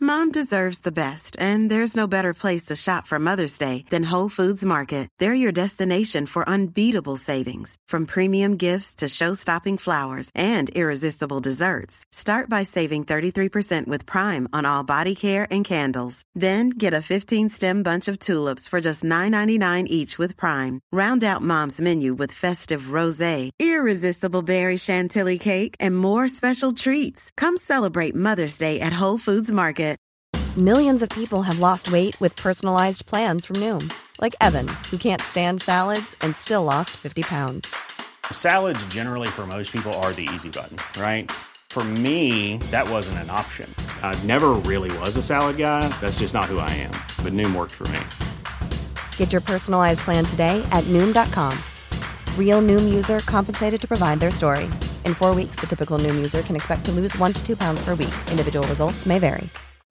Mom deserves the best, and there's no better place to shop for Mother's Day than Whole Foods Market. They're your destination for unbeatable savings, from premium gifts to show-stopping flowers and irresistible desserts. Start by saving 33% with Prime on all body care and candles. Then get a 15-stem bunch of tulips for just $9.99 each with Prime. Round out Mom's menu with festive rosé, irresistible berry chantilly cake, and more special treats. Come celebrate Mother's Day at Whole Foods Market. Millions of people have lost weight with personalized plans from Noom. Like Evan, who can't stand salads and still lost 50 pounds. Salads generally for most people are the easy button, right? For me, that wasn't an option. I never really was a salad guy. That's just not who I am. But Noom worked for me. Get your personalized plan today at Noom.com. Real Noom user compensated to provide their story. In 4 weeks, the typical Noom user can expect to lose 1 to 2 pounds per week. Individual results may vary.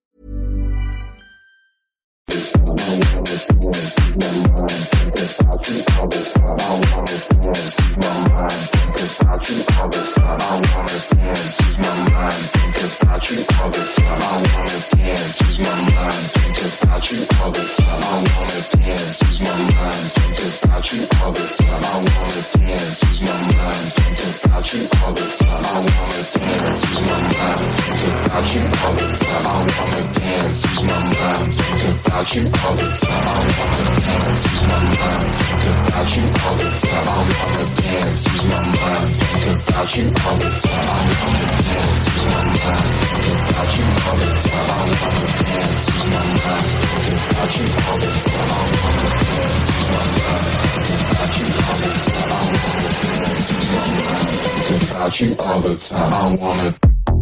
You all the time. I wanna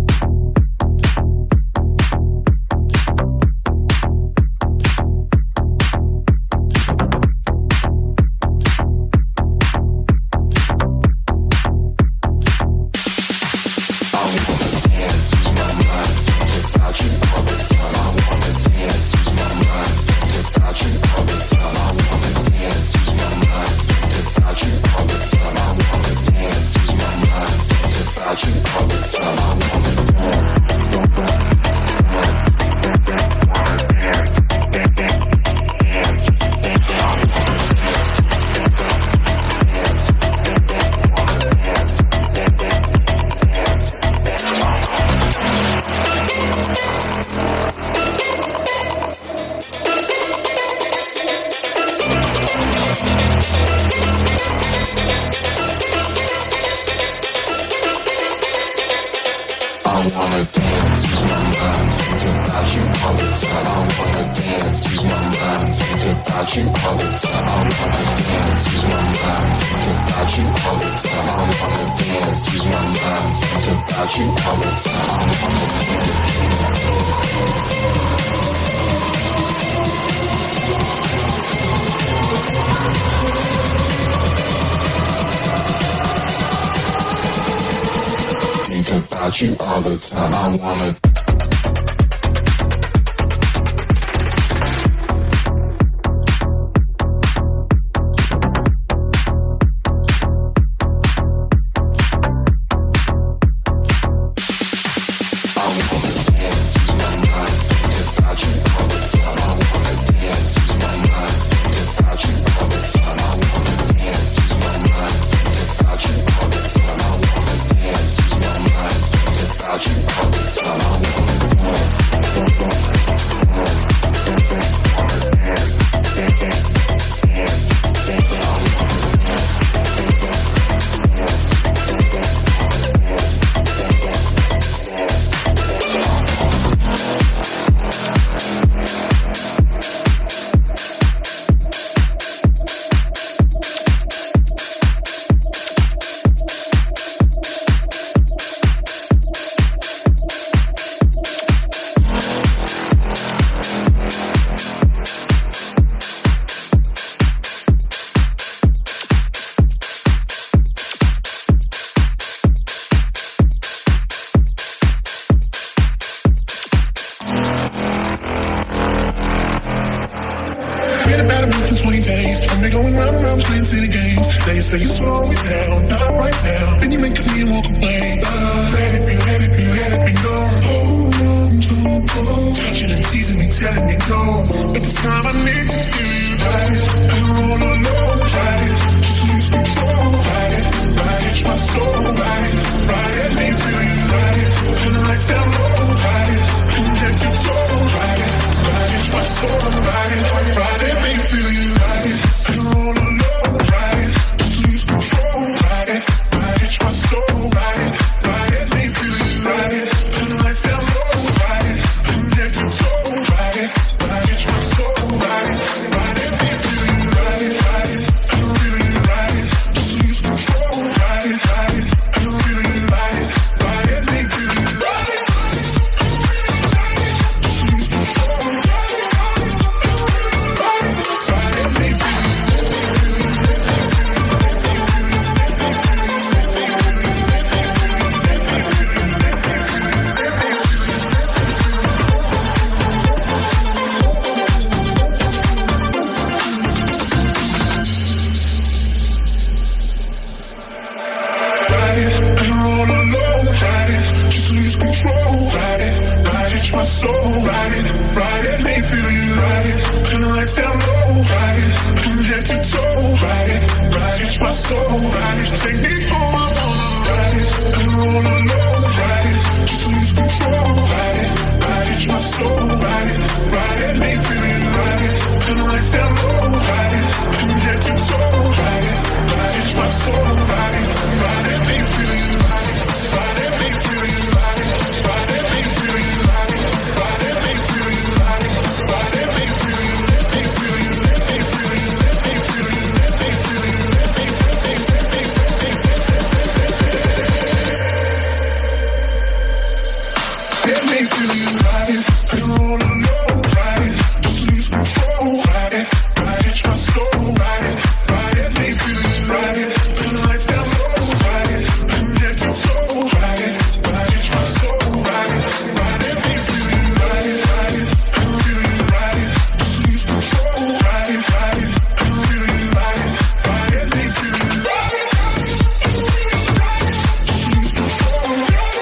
you all the time. I wanna So you slow me down, not right now. Then you make me walk away. Let it be, let it be, let it be known. Hold on to, touch it letting me go. But this time I need to feel you ride it. You're all alone, ride it. Just lose control, ride it. Ride my soul, ride it. Ride me, feel you ride it. Turn the lights down low, ride it. Connect your toe, ride it. Ride my soul, ride it. Ride me, feel you ride it. You're all alone, ride it. Just lose control, ride it. Ride my soul, ride it. Ride me, feel you ride it. Turn the lights down low, ride it. Connect your toe, ride it. Ride my soul, ride it. Ride me, feel you ride it. Ride it. I feel you ride it. Just lose control, ride it. Ride it. I feel you ride it. Ride me, feel you ride it. Just lose control, ride it. Ride me, feel you. My soul, ride it, make feel you ride it. Turn the lights down low, ride it. From head to toe, ride it. My soul, ride it. Take me home, I wanna ride it. And roll alone, ride it. Just lose control, ride it. My soul, ride it, make feel you ride it. Turn the lights down low, ride it. From head to toe, ride it. My soul, ride it, make feel you ride it. Ride it, make feel you ride it. Ride it, make feel you ride it. Ride it, make feel you ride it. Ride it, make feel you, make feel you, make feel you, make feel you, make feel you, make feel you ride it. You're all alone, ride it. Just lose control, ride it. Ride it, my soul, ride it. Ride it, make feel you ride it. Turn the lights down low, ride it. From head to toe, ride it. Ride it, my soul, ride it. Ride it, make feel you ride it. Ride it, I feel you ride it. Just lose control, ride it. Ride it, I feel you ride it. Ride it, make feel you ride it. Just lose control, ride it.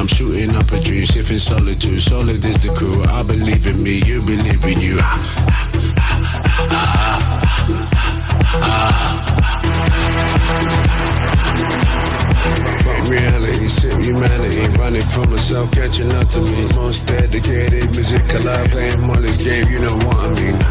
shooting up a dream, sniffing solitude. Solid is the crew. I believe in me, you believe in you. Fuck reality, sip humanity. Running from myself, catching up to me. Most dedicated, music alive, playing Molly's game, you know what I mean.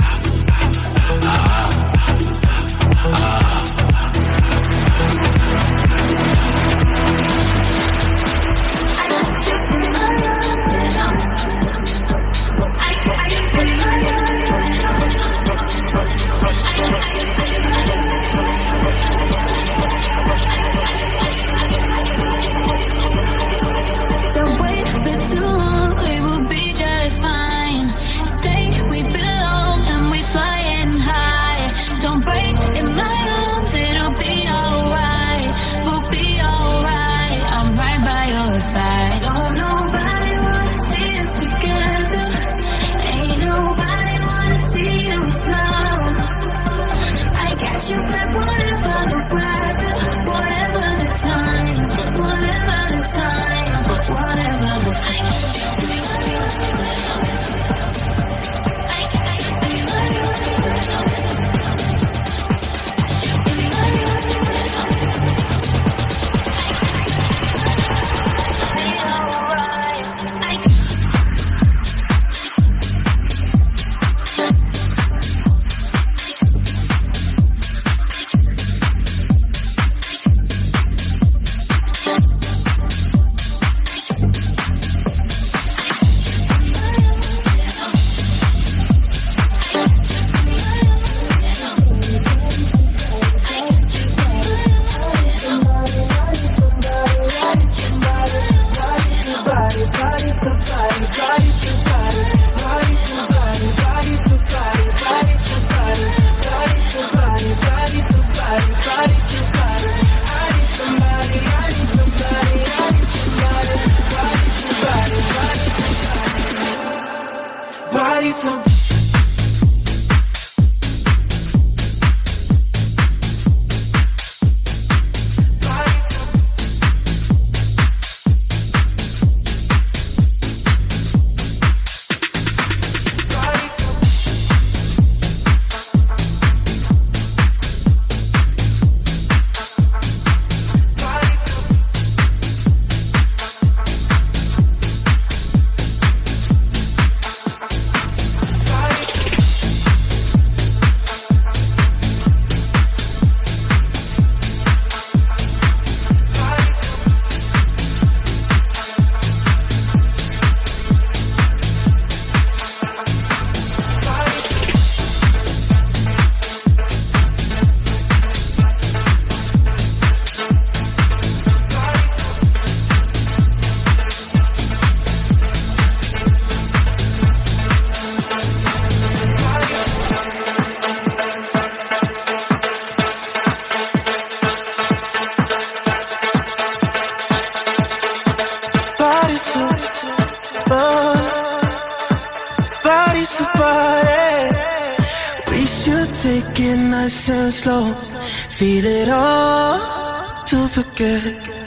Slow, feel it all to forget.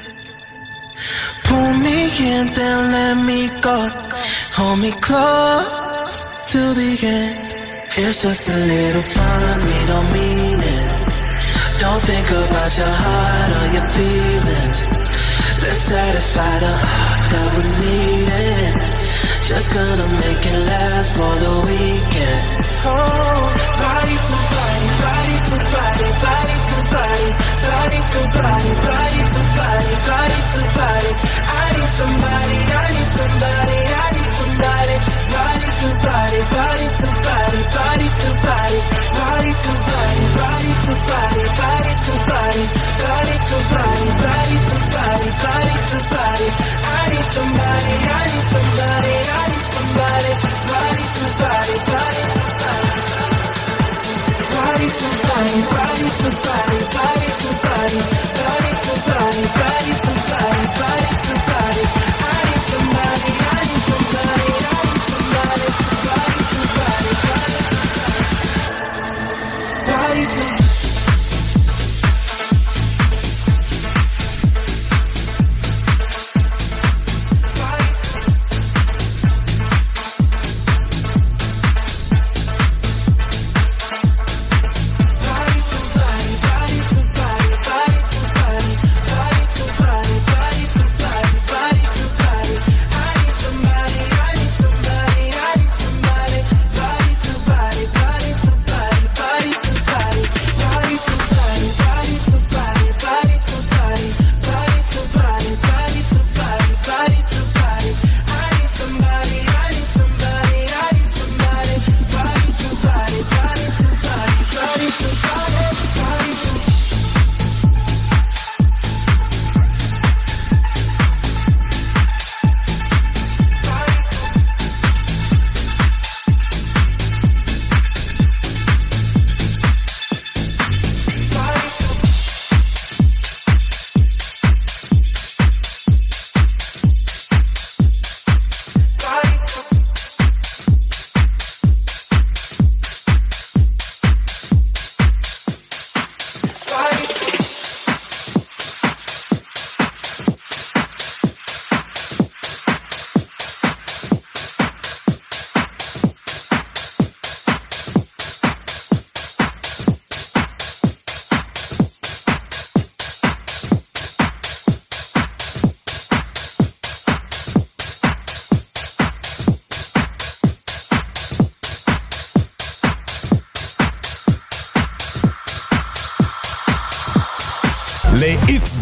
Pull me in, then let me go. Hold me close to the end. It's just a little fun, we don't mean it. Don't think about your heart or your feelings. Let's satisfy the heart that we needed. Just gonna make it last for the weekend. Oh, body to body, body to body, body to body, body to body, body to body, body to body. I need somebody, I need somebody, I need somebody. Body to body, body to body, body to body, body to body, body to body, body to body, body to body, body to body, body to body. I need somebody, I need somebody, I need somebody. Body to body.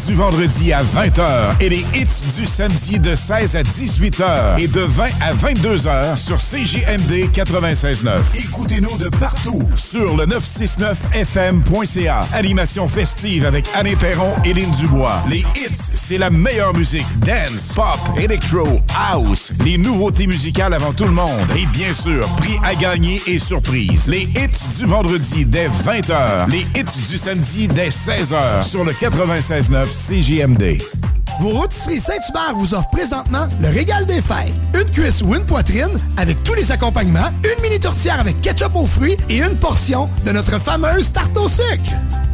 du vendredi à 20h et les hits du samedi de 16 à 18h et de 20 à 22h sur CJMD 96.9. Écoutez-nous de partout sur le 969fm.ca. Animation festive avec Anne Perron et Lynn Dubois. Les hits, c'est la meilleure musique. Dance, pop, electro, house. Les nouveautés musicales avant tout le monde. Et bien sûr, prix à gagner et surprise. Les hits du vendredi dès 20h. Les hits du samedi dès 16h sur le 96.9 CJMD. Vos rôtisseries Saint-Hubert vous offrent présentement le régal des fêtes. Une cuisse ou une poitrine avec tous les accompagnements, une mini tourtière avec ketchup aux fruits et une portion de notre fameuse tarte au sucre.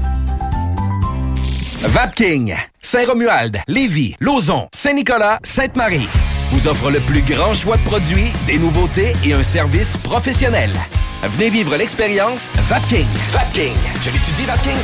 Vapking, Saint-Romuald, Lévis, Lauson, Saint-Nicolas, Sainte-Marie vous offre le plus grand choix de produits, des nouveautés et un service professionnel. Venez vivre l'expérience Vapking. Vapking. Je l'étudie, Vapking.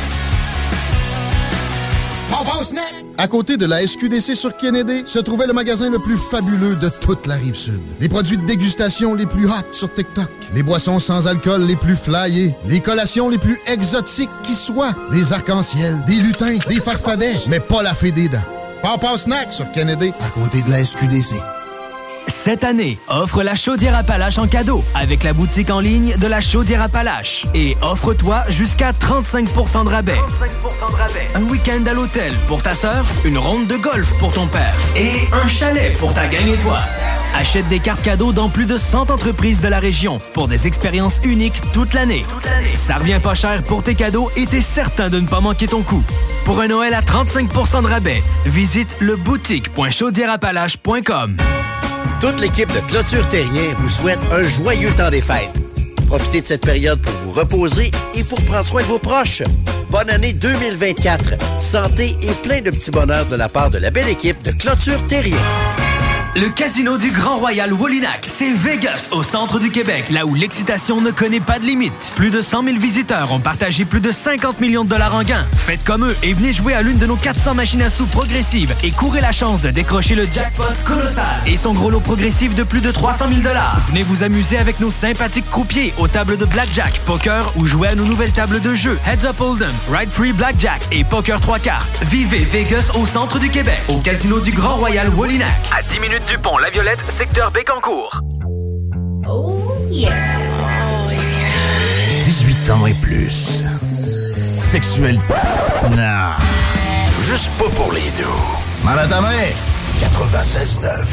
À côté de la SQDC sur Kennedy, se trouvait le magasin le plus fabuleux de toute la Rive-Sud. Les produits de dégustation les plus hot sur TikTok. Les boissons sans alcool les plus flyées. Les collations les plus exotiques qui soient. Des arcs-en-ciel, des lutins, des farfadets, mais pas la fée des dents. Papa Snack sur Kennedy, à côté de la SQDC. Cette année, offre la Chaudière Appalaches en cadeau avec la boutique en ligne de la Chaudière Appalaches. Et offre-toi jusqu'à 35% de rabais. Un week-end à l'hôtel pour ta sœur, une ronde de golf pour ton père et un chalet pour ta gang et toi. Achète des cartes cadeaux dans plus de 100 entreprises de la région pour des expériences uniques toute l'année. Ça revient pas cher pour tes cadeaux et t'es certain de ne pas manquer ton coup. Pour un Noël à 35% de rabais, visite leboutique.chaudiereappalaches.com. Toute l'équipe de Clôture Terrien vous souhaite un joyeux temps des fêtes. Profitez de cette période pour vous reposer et pour prendre soin de vos proches. Bonne année 2024. Santé et plein de petits bonheurs de la part de la belle équipe de Clôture Terrien. Le casino du Grand Royal Wallinac, c'est Vegas, au centre du Québec, là où l'excitation ne connaît pas de limite. Plus de 100 000 visiteurs ont partagé plus de 50 millions de dollars en gains. Faites comme eux et venez jouer à l'une de nos 400 machines à sous progressives et courez la chance de décrocher le jackpot colossal et son gros lot progressif de plus de 300 000 dollars. Venez vous amuser avec nos sympathiques croupiers aux tables de blackjack, poker ou jouer à nos nouvelles tables de jeu Heads Up Hold'em, Ride Free Blackjack et Poker 3 cartes. Vivez Vegas au centre du Québec, au casino du Grand Royal Wallinac. À 10 minutes du pont La Violette, secteur Bécancour. Oh yeah. Oh yeah. 18 ans et plus. Sexuel. Non. Juste pas pour les deux. Mal à ta main. 96.9.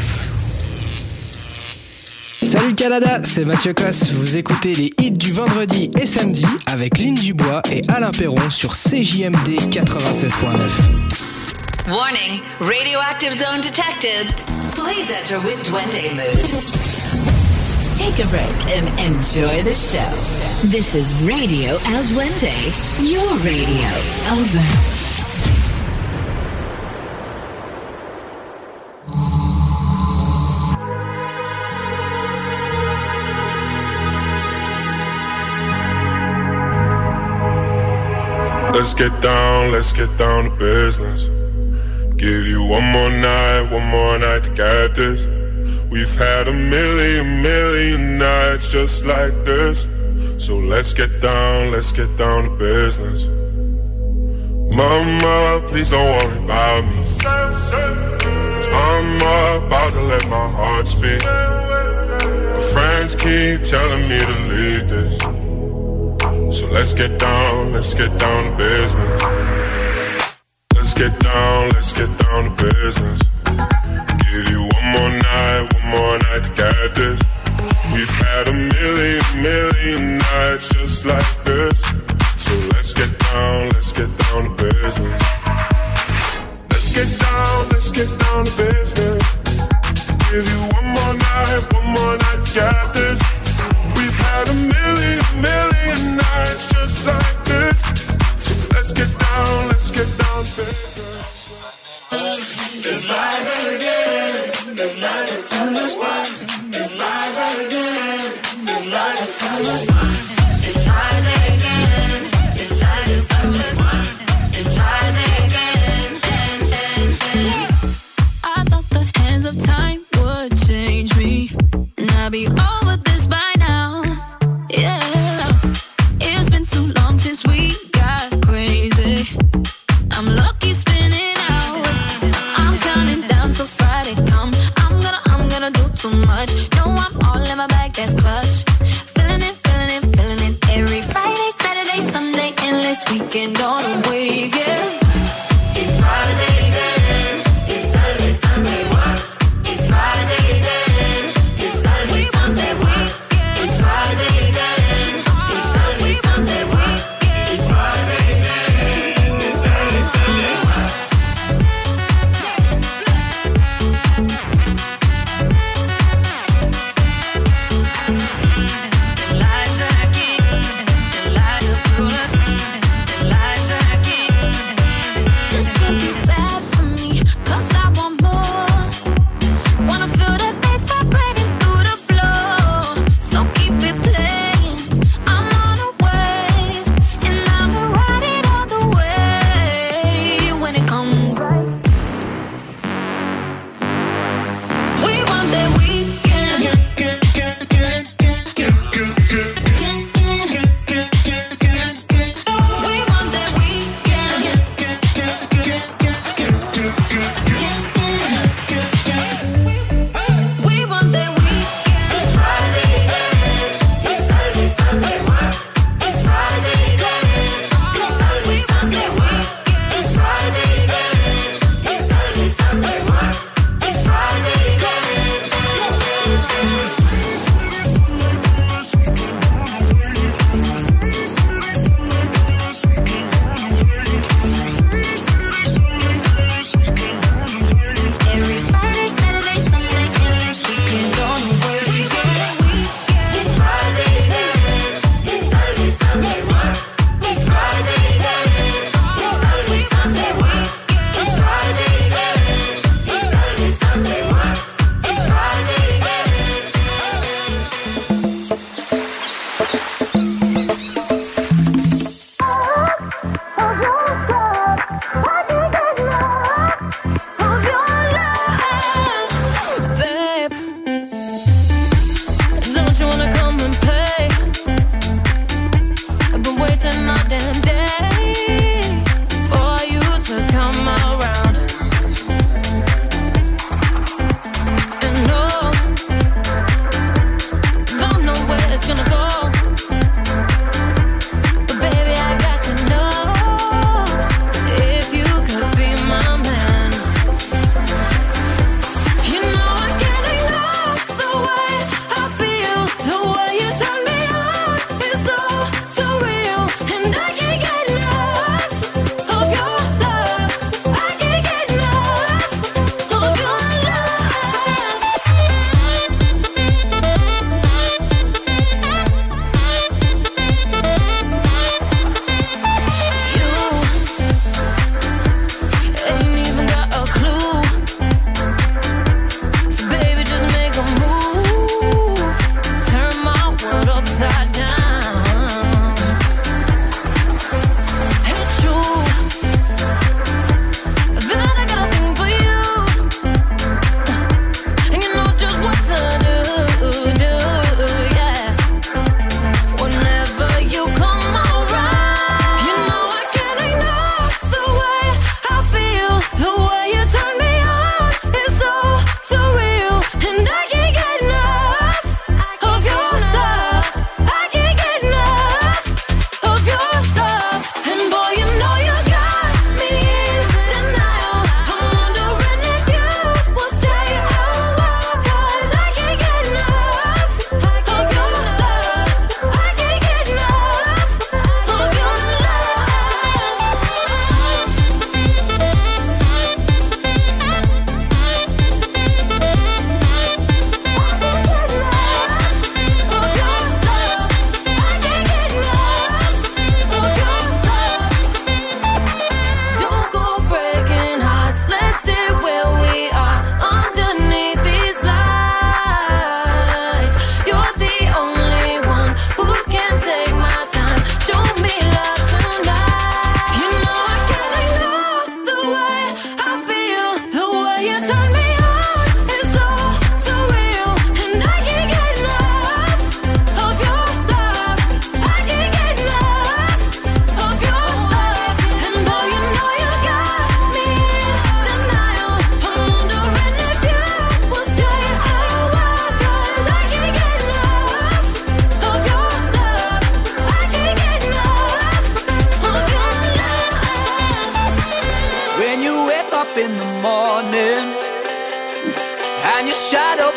Salut Canada, c'est Mathieu Cosse. Vous écoutez les hits du vendredi et samedi avec Lynn Dubois et Alain Perron sur CJMD 96.9. Warning, radioactive zone detected. Please enter with Duende mood. Take a break and enjoy the show. This is Radio El Duende, your radio. Over. Let's get down to business. Give you one more night to get this. We've had a million nights just like this. So let's get down to business. Mama, please don't worry about me. I'm about to let my heart speak. My friends keep telling me to leave this. So let's get down to business. Let's get down to business. Give you one more night to get this. We've had a million nights just like this. So let's get down to business. Let's get down to business. Give you one more night to get this. We've had a million nights just like this. So let's get down to business. It's live again. It's live it's so much fun. It's live again. It's live it's so much fun. It's Friday again. It's live it's so much fun. It's Friday again. I thought the hands of time would change me, and I'd be over this by now. Yeah, it's been too long since we got crazy. I'm lucky spinning out. too much. No, I'm all in my bag, that's clutch. Feeling it, feeling it, feeling it. Every Friday, Saturday, Sunday, endless weekend on a wave, yeah. It's Friday then, it's Saturday, Sunday, what? It's Friday then, it's Saturday, Sunday, what? It's Friday then, it's Saturday, Sunday, what? It's Friday then, it's Saturday, Sunday, what?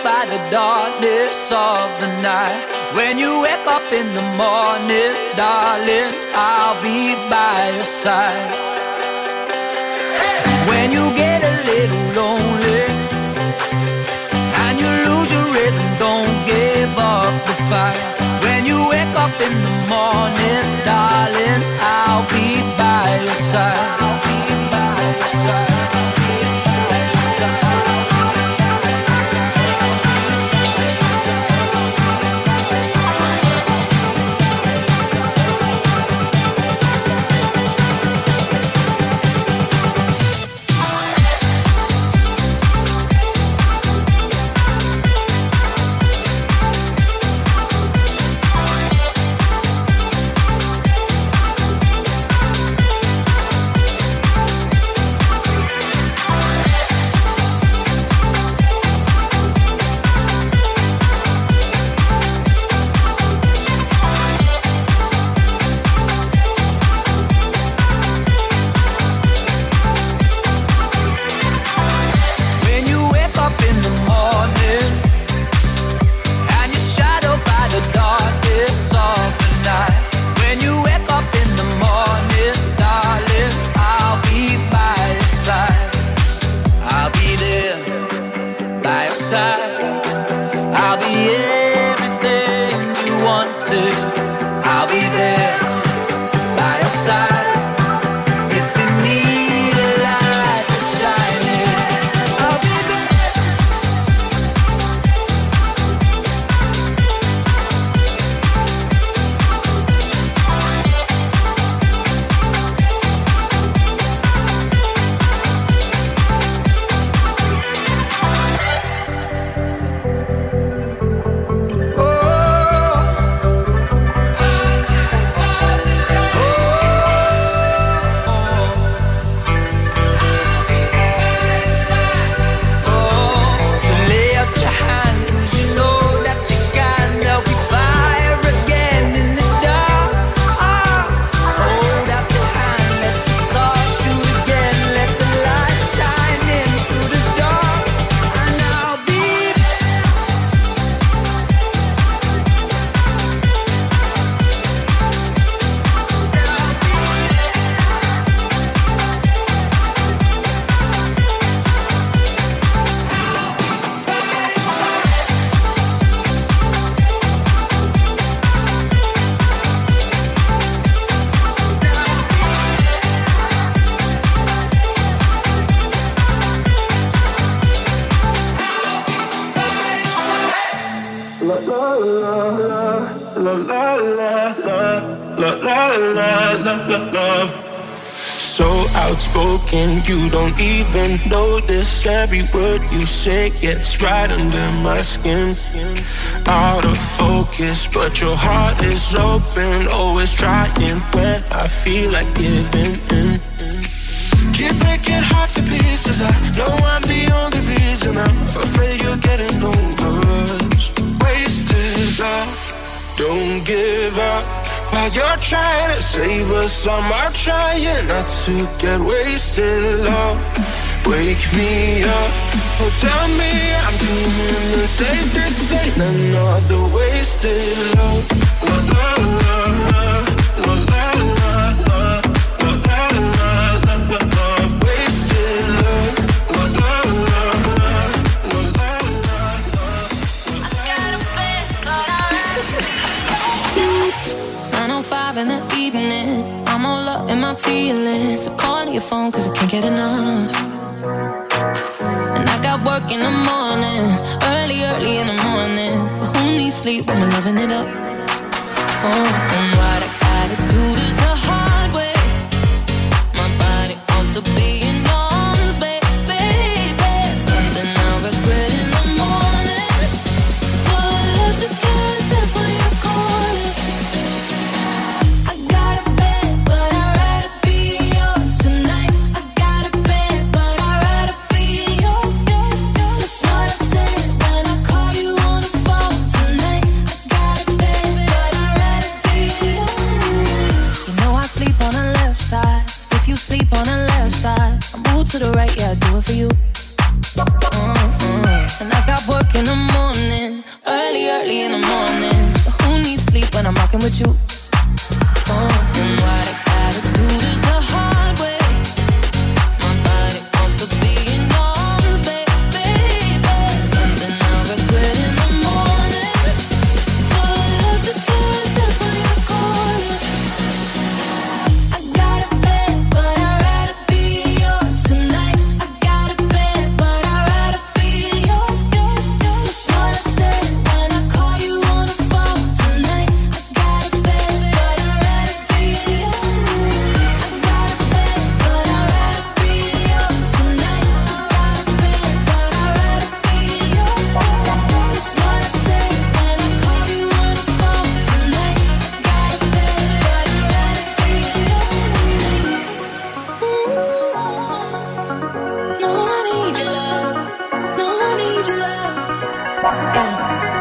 by the darkness of the night. When you wake up in the morning, darling, I'll be by your side. When you get a little lonely and you lose your rhythm, don't give up the fight. When you wake up in the morning, darling, I'll be by your side. I'll be by your side. I'll be everything you wanted. I'll be there by your side. If you need a light to shine in, I'll be love. So outspoken, you don't even notice. Every word you say gets right under my skin. Out of focus, but your heart is open. Always trying when I feel like giving in. Keep breaking hearts to pieces. I know I'm the only reason. I'm afraid you're getting over us. Wasted love. Don't give up while you're trying to save us. I'm trying not to get wasted, love. Wake me up, oh tell me I'm dreaming the same. This ain't another wasted love. La la la la, la la la la, la la la love. Wasted love. La la la la, la la la. 9:05 in the evening, I'm all up in my feelings. So calling your phone cause I can't get enough. And I got work in the morning, early in the morning. But who needs sleep when we're loving it up? Oh, and what I gotta do this the hard way. My body wants to be in arms, baby. Something I regret in the morning. But love just can't resist when you're calling. I got a bed, but I'd rather be yours tonight. I got a bed, but I'd rather be yours. That's what I said when I call you on the phone tonight. I got a bed, but I'd rather be yours. You know I sleep on the left side. If you sleep on the left side, I move to the right, yeah, I do it for you. And I got work in the morning, be in the morning. But who needs sleep when I'm rocking with you? And what I gotta do is the hard way. My body wants to be in arms, baby. Something I regret in the morning. But love just comes when you're calling. I got a bed, but I'd rather be yours tonight. I got a bed, but I'd rather be yours. That's what I said when I call you on the phone tonight. I got a bed, but I'd rather be yours. I got a bed, but I'd rather be yours tonight. I got a bed, but I'd rather be yours. That's what I said when I call you on the phone tonight. I got a bed, but I'd rather be yours. No, I need your love. No, I need your love. Yeah.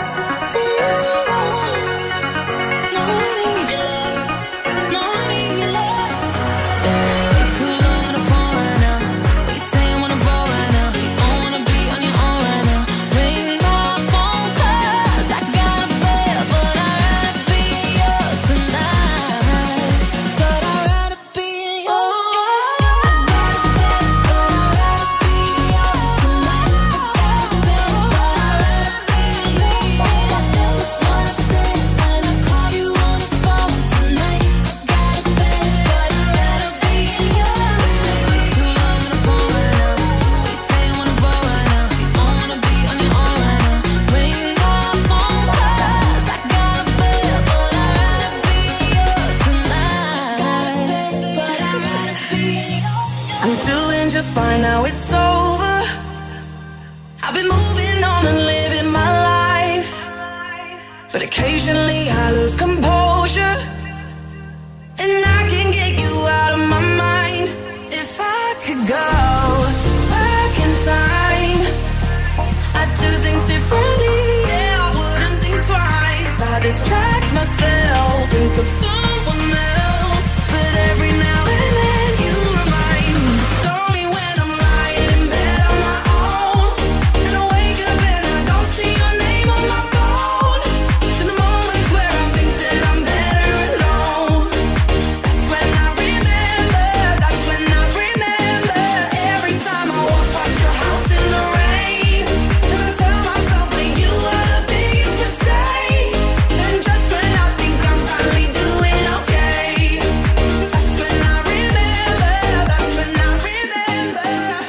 No, I need your love. No, I need your love. Way too long on the phone right now. What you say I wanna roll right now? If you don't wanna be on your own right now, ring my phone 'cause I got a bed, but I'd rather be yours tonight. But I'd rather be yours. I got a bed, but I'd rather be yours tonight. I got a bed, but I'd rather be yours. That's what I said when I call you on the phone tonight. I got a bed, but I'd rather be yours. Way too long on the phone right now. What you say I wanna roll right now? If you don't wanna be on your own right now, ring my phone 'cause I got a bed, but I'd rather be yours tonight. Got a bed, but I'd rather be yours. I'm doing just fine now, it's over. I've been moving on and living my life, but occasionally I lose composure, and I can get you out of my mind. If I could go back in time, I'd do things differently. Yeah, I wouldn't think twice. I distract myself, think of someone else, but every now and then you remind me. It's only when I'm lying in bed on my own, and I wake up and I don't see your name on my phone. To the moments where I think that I'm better alone. That's when I remember. That's when I remember. Every time I walk past your house in the rain, and I tell myself that you are the biggest mistake. And just when I think I'm finally doing okay, that's when I remember. That's when I remember.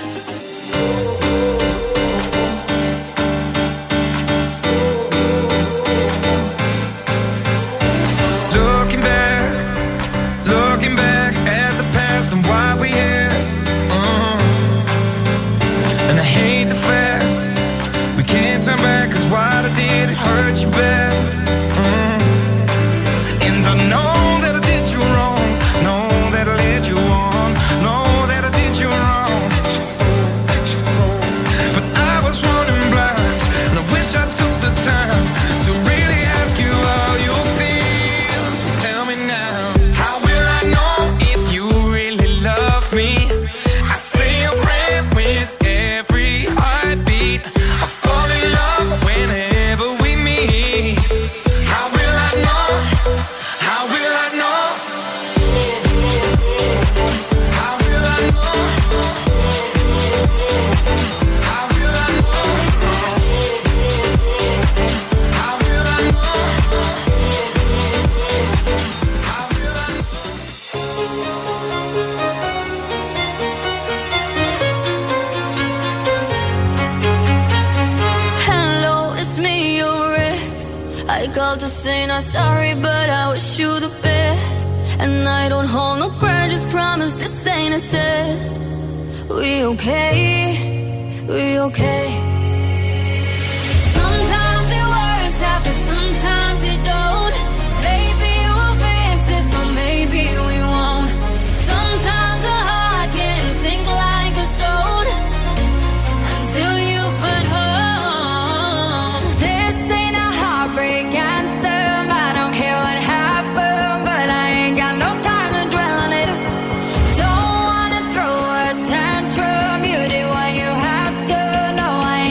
Looking back at the past and why we here. And I hate the fact we can't turn back, 'cause what I did, it hurt you bad. And I know that I did you wrong, know that I led you on, know that I did you wrong. But I was running blind, and I wish I took the time to really ask you how you feel. So tell me now, how will I know if you really love me? I say a prayer with every heartbeat. I fall in love whenever we meet. How will I know? How will I know? How will I know? How will I know? How will I know? How will I know? Hello, it's me, your ex. I called to say not sorry, but I wish you the best. And I don't hold no grudges, promise this ain't a test. We okay? We okay? Sometimes it works out, but sometimes it don't. Maybe we'll fix this, or maybe we won't. Sometimes a heart can sink like a stone until you find home. This ain't a heartbreak anthem. I don't care what happened, but I ain't got no time to dwell on it. Don't wanna throw a tantrum. You did what you had to. No, I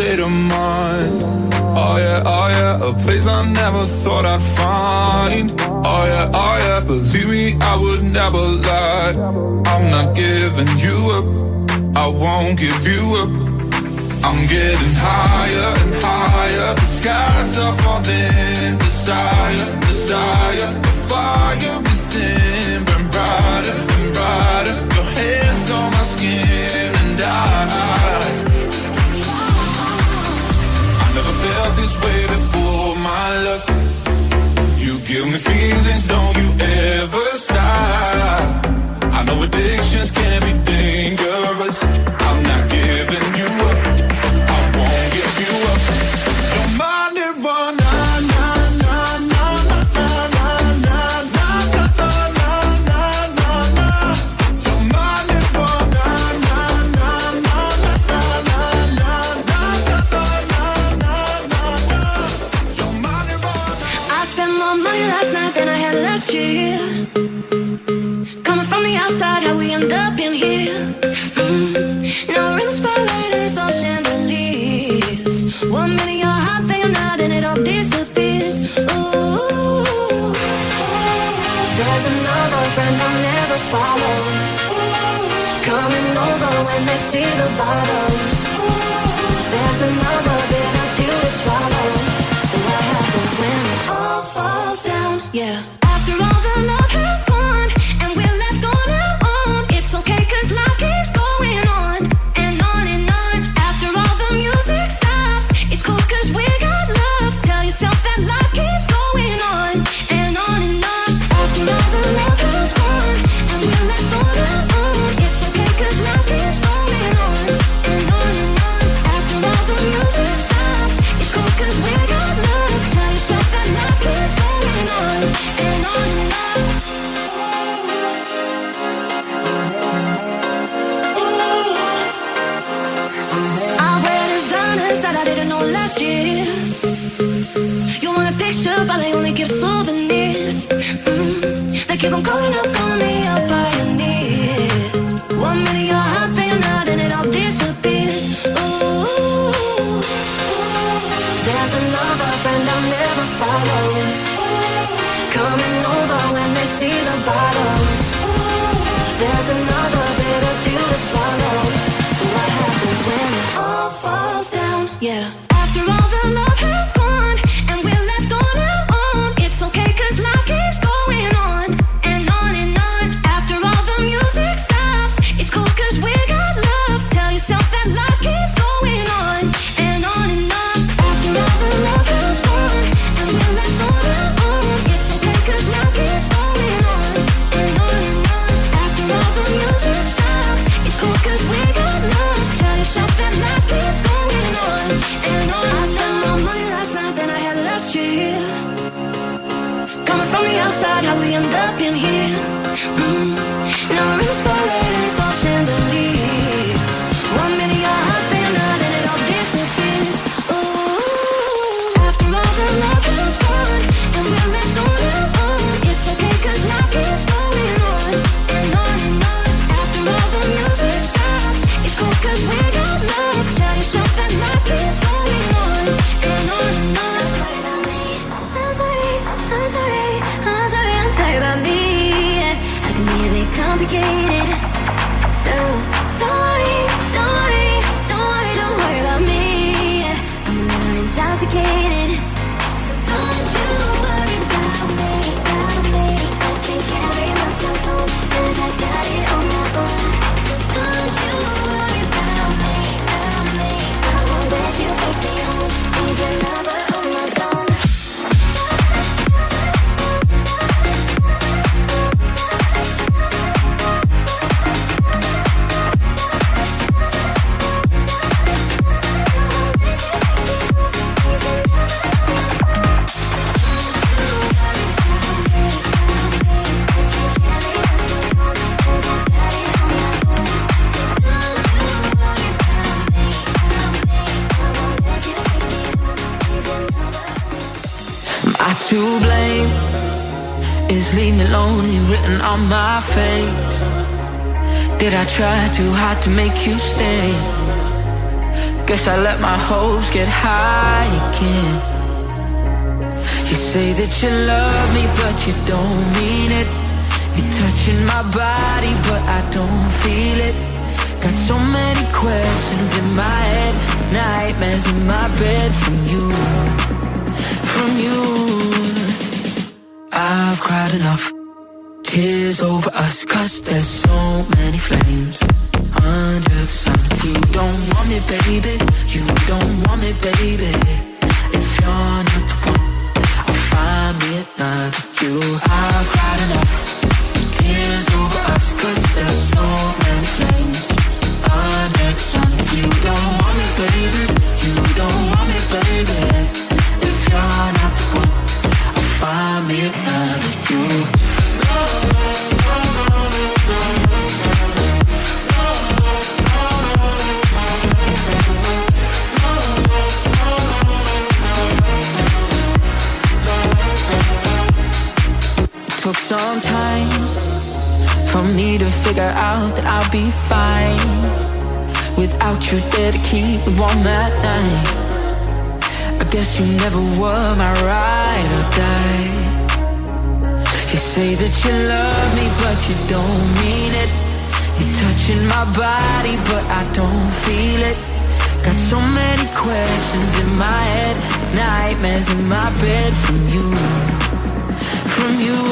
state of mind. Oh yeah, a place I never thought I'd find. Oh yeah, believe me, I would never lie. I'm not giving you up, I won't give you up. I'm getting higher and higher. The skies are falling. Desire, desire, the fire within burn brighter and brighter. Your hands on my skin and I never felt this way before, my love. You give me feelings, don't you ever stop. I know addictions can be dangerous. I'm not giving you up, I won't give you up. You're my nirvana. Coming from the outside, how we end up in here. Now we're in the spotlight and it's all chandeliers. 1 minute you're hot, then you're not, and it all disappears. Ooh, there's another friend I'll never follow. Coming over when they see the bottles. There's another bitter pill to swallow. What happens when it all falls down? Yeah. After all the love has gone and we're left on our own, it's okay 'cause life keeps going on and on and on. After all the music stops, it's cool 'cause we got love. Tell yourself that life keeps going on and on and on. After all the love has gone and we're left on our own, it's okay 'cause life keeps going on and on and on. After all the music stops, it's cool 'cause we got love. Tell yourself that life keeps going on and on and on. I wear designers that I didn't know last year. You want a picture, but they only give souvenirs. They keep on calling me up, pioneer. 1 minute you're hot, then you're not, and it all disappears. Ooh, there's another friend I'll never follow. Coming over when they see the bottles. There's another bitter pill to swallow. What happens when it all falls down? Yeah. After all the love has gone and we're left on our own, it's okay 'cause life keeps going on and on and on. After all the music stops, it's cool 'cause we got love. Tell yourself that life keeps going on and on and on. After all the love has gone and we're left on our own, it's okay 'cause life keeps going on and on and on. After all the music stops, it's cool 'cause we got love. Tell yourself that life keeps going on and on. I spent more money last night than I had last year. Coming from the outside, how we end up in here. Now we're in the spotlight and it's all chandeliers. 1 minute you're hot, then you're not, and it all disappears. Ooh, after all the love has gone and we're left on our own, it's okay 'cause life keeps going on and on and on. After all the music stops, it's cool 'cause we got love. Tell yourself that life keeps going on and on and on. I'm sorry, I'm sorry, I'm sorry, I'm sorry about me. I can be a bit complicated, so don't worry, don't worry, don't worry, don't worry about me. I'm a little intoxicated, so don't you worry about me, about me. I can carry myself home 'cause I got it on my own. So don't you worry about me, about me. I won't let you take me home, leave your number on my phone. To blame is leave me lonely written on my face. Did I try too hard to make you stay? Guess I let my hopes get high again. You say that you love me, but you don't mean it. You're touching my body, but I don't feel it. Got so many questions in my head, nightmares in my bed from you, from you. I've cried enough, tears over us, 'cause there's so many flames under the sun. You don't want me, baby, you don't want me, baby. If you're not the one, I'll find me another you. I've cried enough, tears over us, 'cause there's so many flames under the sun. You don't want me, baby, you don't want me, baby. If you're not the one, I'll find me another you. Took some time for me to figure out that I'll be fine without you there to keep me warm at night. I guess you never were my ride or die. You say that you love me, but you don't mean it. You're touching my body, but I don't feel it. Got so many questions in my head, nightmares in my bed from you, from you.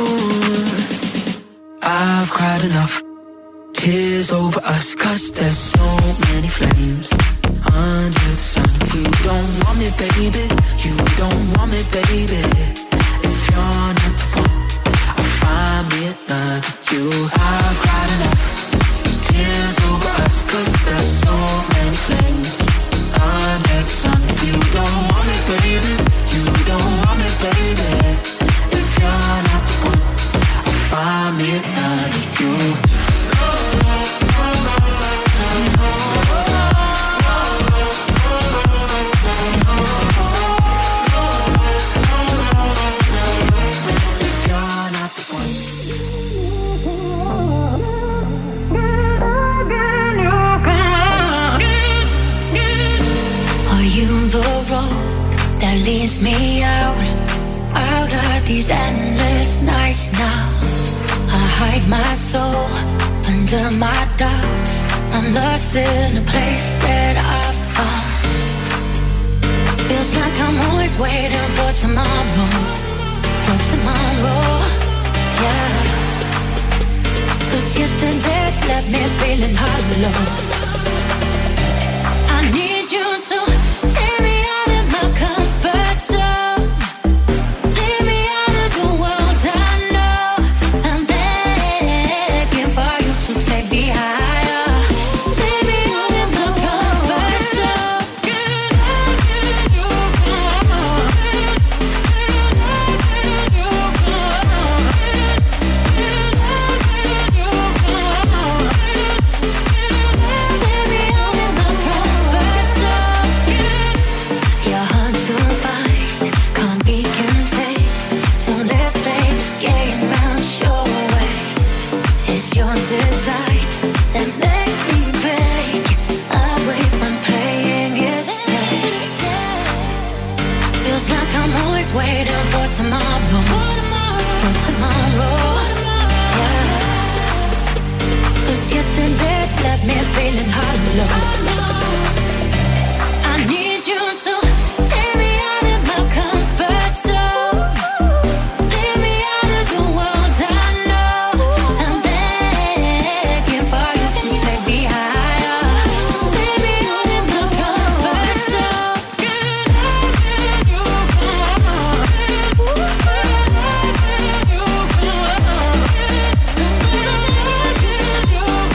I've cried enough, tears over us, 'cause there's so many flames under the sun. You don't want me, baby, you don't want me, baby. If you're not the one, I'll find me another you. I've cried enough, tears over us, 'cause there's so many flames under the sun. You don't want me, baby, you don't want me, baby. If you're not the one, I'll find me another you. That leads me out of these endless nights now. I hide my soul under my doubts. I'm lost in a place that I've found. Feels like I'm always waiting for tomorrow, yeah. 'Cause yesterday left me feeling hollow. I need you to take me out of my comfort zone. Leave me out of the world I know. I'm begging for you to take me higher. Take me out of my comfort zone. Take me out of my comfort zone. You're hard to find, can't be contained. So let's play this game out your way. It's your design that makes me break away from playing it safe. Feels like I'm always waiting for tomorrow, yeah. 'Cause yesterday left me feeling hollow. I need you to take me out of my comfort zone. Leave me out of the world I know. I'm begging for you to take me higher. Take me out of my comfort zone.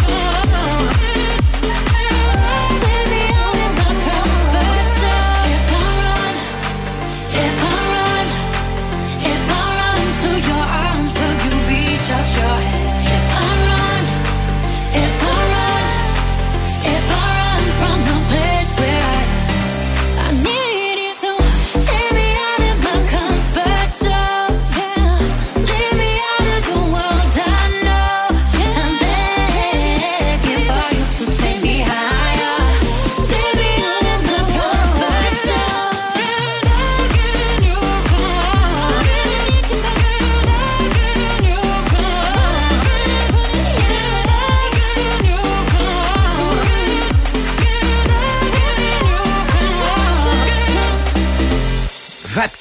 Take me out of my comfort zone. If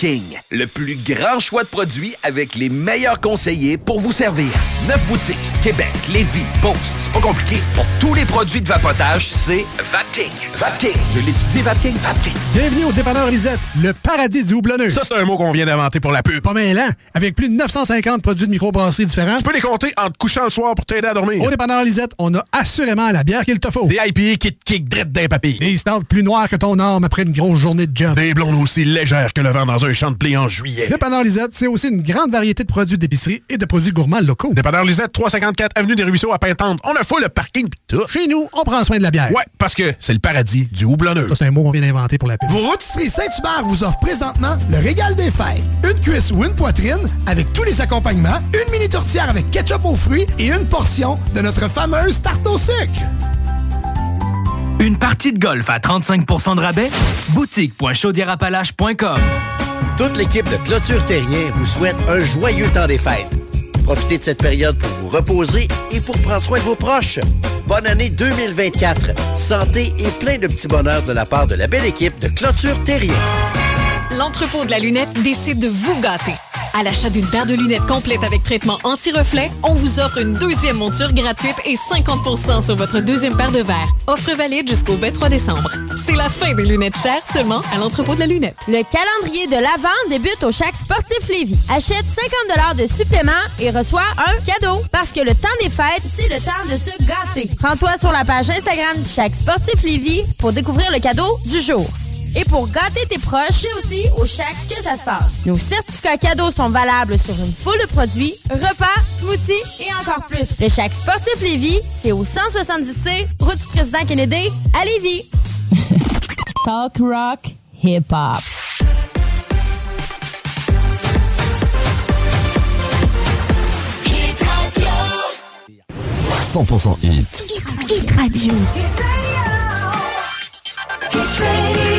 Vapking, le plus grand choix de produits avec les meilleurs conseillers pour vous servir. 9 boutiques, Québec, Lévis, Beauce. C'est pas compliqué. Pour tous les produits de vapotage, c'est Vapking. Vapking. Je l'étudie, Vapking. Vapking. Bienvenue au dépanneur Lisette, le paradis du houblonneux. Ça, c'est un mot qu'on vient d'inventer pour la pub. Pas mêlant, avec plus de 950 produits de microbrasserie différents. Tu peux les compter en te couchant le soir pour t'aider à dormir. Au dépanneur Lisette, on a assurément la bière qu'il te faut. Des IPA qui te kick drette d'un papy. Des stouts plus noirs que ton arme après une grosse journée de job. Des blondes aussi légères que le vent dans un champ de blé en juillet. Dépanneur Lisette, c'est aussi une grande variété de produits d'épicerie et de produits gourmands locaux. Dépanneur Lisette, 354 Avenue des Ruisseaux à Pintante. On a full le parking pis tout. Chez nous, on prend soin de la bière. Ouais, parce que c'est le paradis du houblonneux. Ça, c'est un mot qu'on vient d'inventer pour la pub. Vos rôtisseries Saint-Hubert vous offrent présentement le régal des fêtes. Une cuisse ou une poitrine avec tous les accompagnements, une mini tourtière avec ketchup aux fruits et une portion de notre fameuse tarte au sucre. Une partie de golf à 35% de rabais? Boutique.chaudierapalache.com. Toute l'équipe de Clôture Terrien vous souhaite un joyeux temps des fêtes. Profitez de cette période pour vous reposer et pour prendre soin de vos proches. Bonne année 2024. Santé et plein de petits bonheurs de la part de la belle équipe de Clôture Terrien. L'entrepôt de la lunette décide de vous gâter. À l'achat d'une paire de lunettes complète avec traitement anti-reflet, on vous offre une deuxième monture gratuite et 50% sur votre deuxième paire de verres. Offre valide jusqu'au 23 décembre. C'est la fin des lunettes chères seulement à l'entrepôt de la lunette. Le calendrier de l'Avent débute au Shack Sportif Lévis. Achète 50 $ de supplément et reçois un cadeau. Parce que le temps des fêtes, c'est le temps de se gâter. Rends-toi sur la page Instagram du Shack Sportif Lévis pour découvrir le cadeau du jour. Et pour gâter tes proches, c'est aussi au Shack que ça se passe. Nos certificats cadeaux sont valables sur une foule de produits, repas, smoothies et encore plus. Le Shack Sportif Lévis, c'est au 170C, route du Président Kennedy, à Lévis. Talk rock, hip-hop. Hit Radio. 100% hit. Hit Radio. Hit Radio.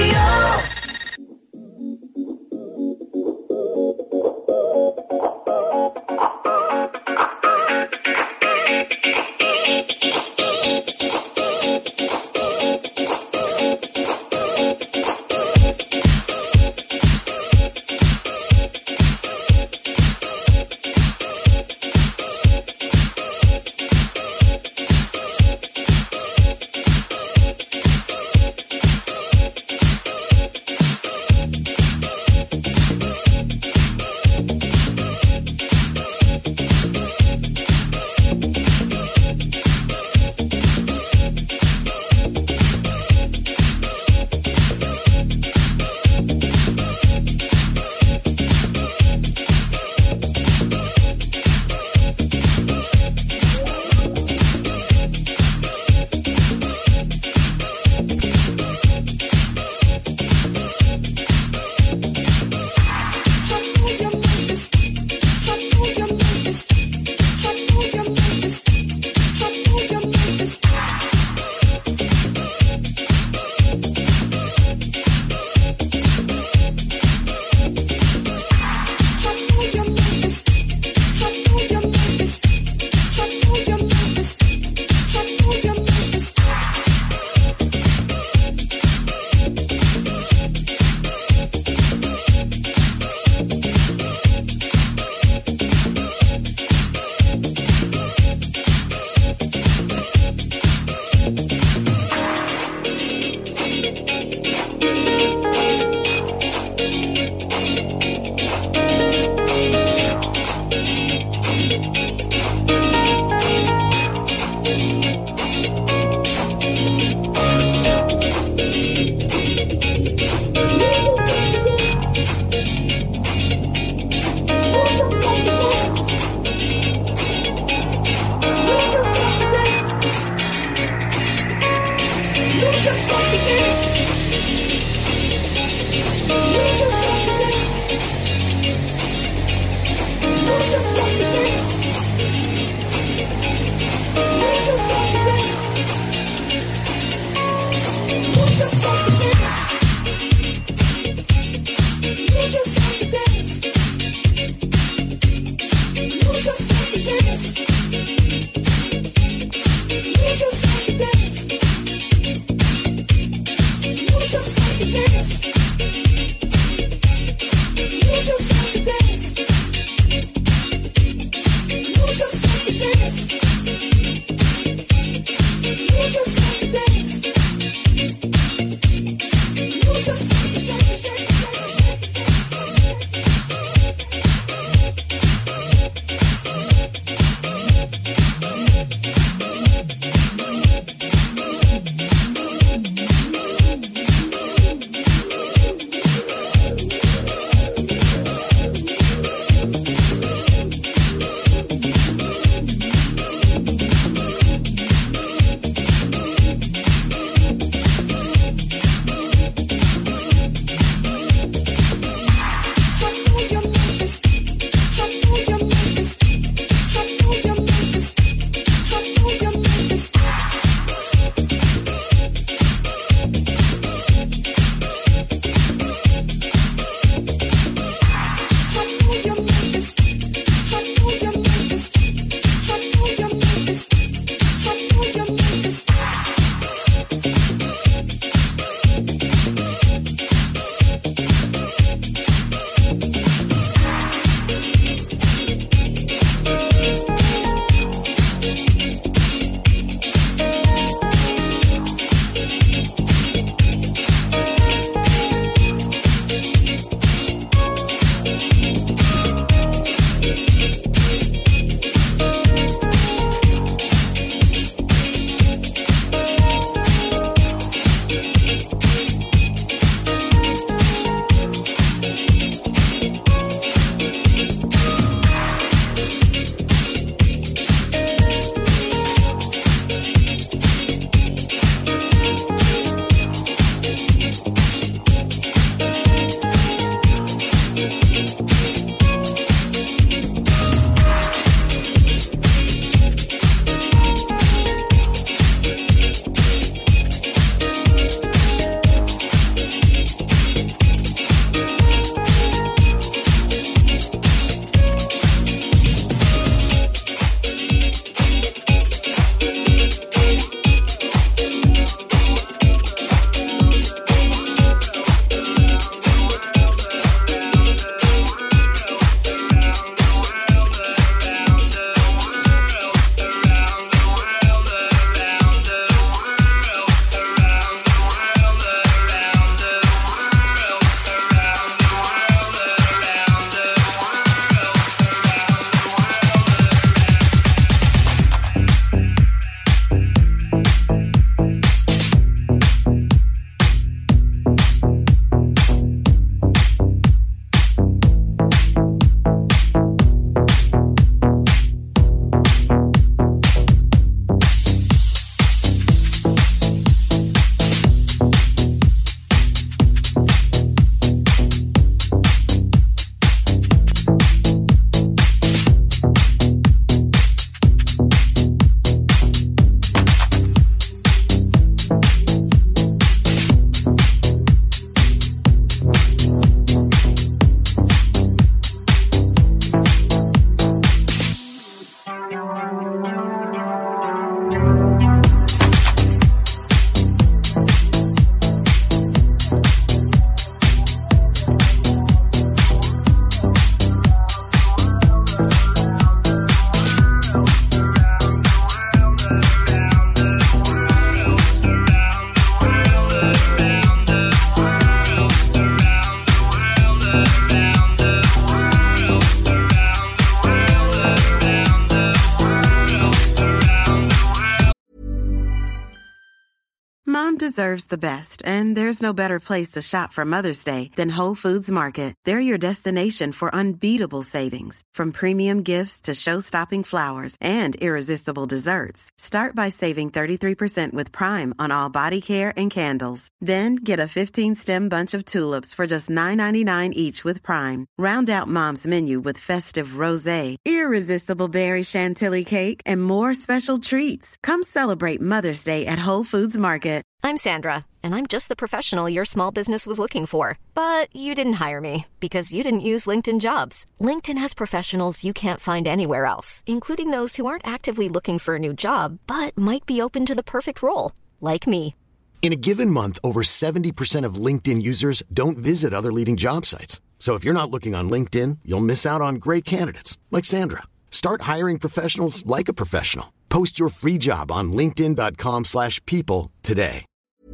deserves the best, and there's no better place to shop for Mother's Day than Whole Foods Market. They're your destination for unbeatable savings, from premium gifts to show-stopping flowers and irresistible desserts. Start by saving 33% with Prime on all body care and candles. Then get a 15-stem bunch of tulips for just $9.99 each with Prime. Round out Mom's menu with festive rosé, irresistible berry chantilly cake, and more special treats. Come celebrate Mother's Day at Whole Foods Market. I'm Sandra, and I'm just the professional your small business was looking for. But you didn't hire me because you didn't use LinkedIn Jobs. LinkedIn has professionals you can't find anywhere else, including those who aren't actively looking for a new job, but might be open to the perfect role, like me. In a given month, over 70% of LinkedIn users don't visit other leading job sites. So if you're not looking on LinkedIn, you'll miss out on great candidates like Sandra. Start hiring professionals like a professional. Post your free job on linkedin.com/people today.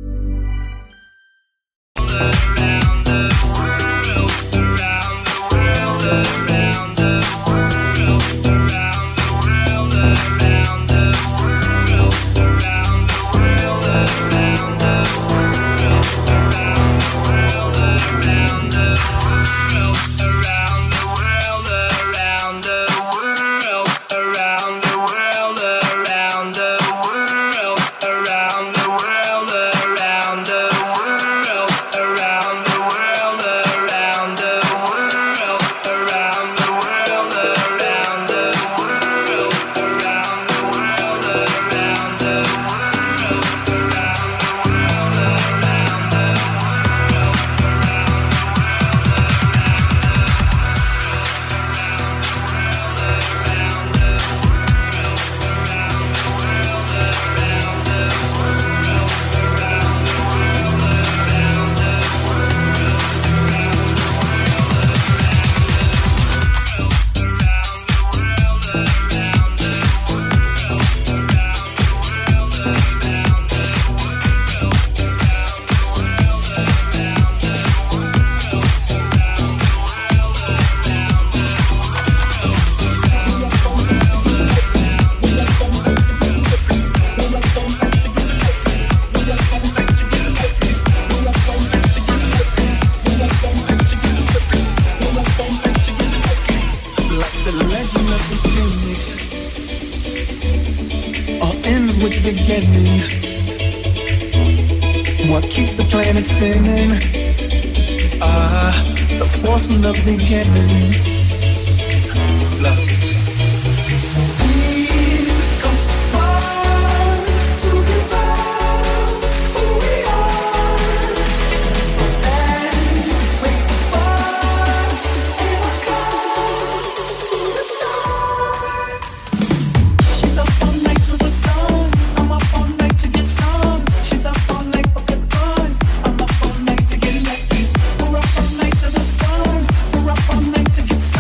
beginnings. What keeps the planet spinning? The force from the beginning. Love. To get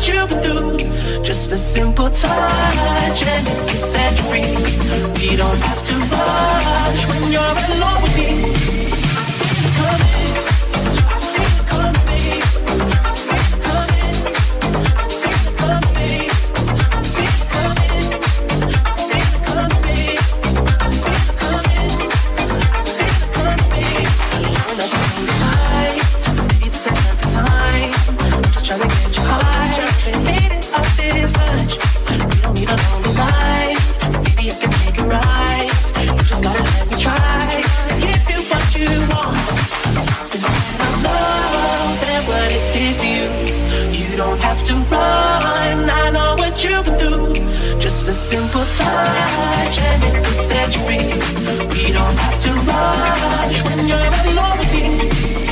you've been through. Just a simple touch and it can set you free. We don't have to rush when you're alone with me. Come in, come in, come in, come in, come in, come in, come in, come in. I'm not so tight, so maybe this is not the time. I'm just trying to get you high, hate it off this touch. We don't need a lonely night, so maybe I can make it right. You just gotta let me try to give you what you want. I love and what it did to you. You don't have to run, I know what you've been through. Just a simple touch and it can set you free. We don't have to rush when you're alone with me.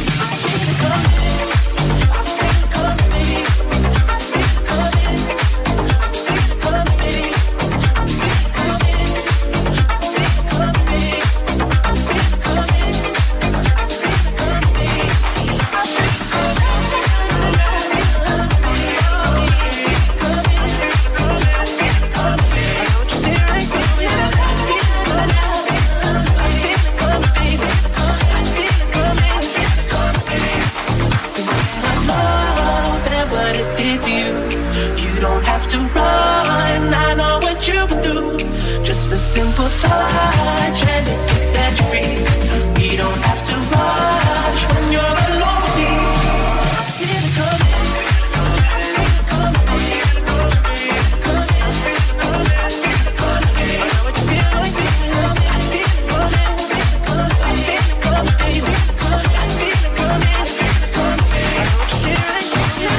Simple touch and it can set you free. We don't have to rush when you're alone with me. Come in, come in, come in, come in, come in. I know what you feel like. Come in, come in, come in, come in, come in. I know what you feel like.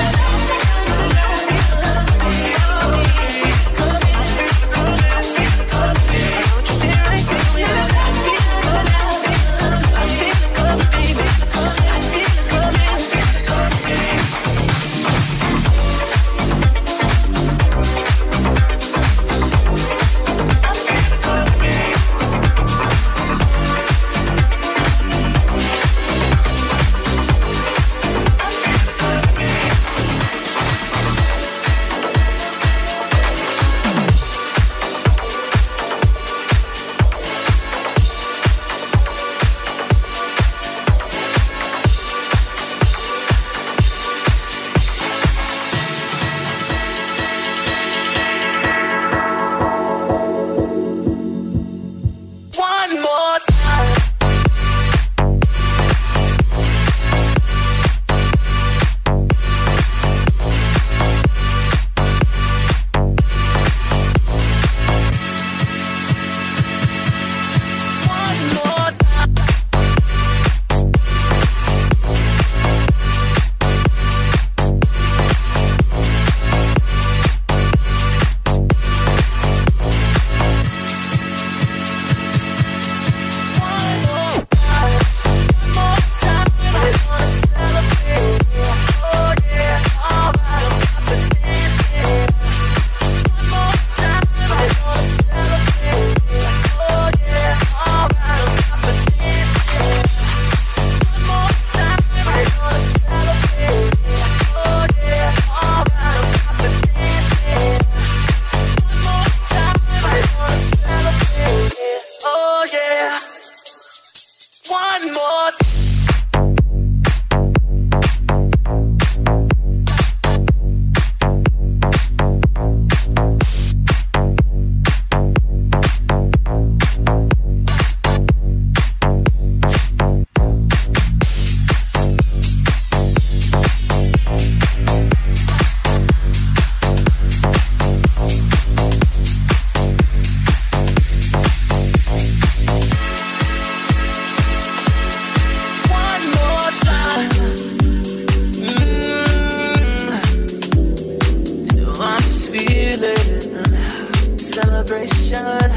celebration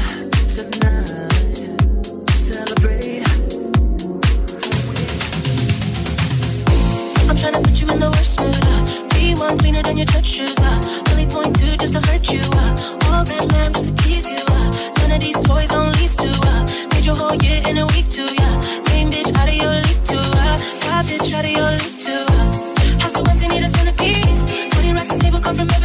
tonight. Celebrate. I'm trying to put you in the worst mood. Be one cleaner than your church shoes. Really point to just to hurt you. All that lamb just to tease you. None of these toys on lease to. Made your whole year in a week too. Main bitch out of your league too. Side bitch out of your league too. House so empty, need a centerpiece. 20 racks a table come from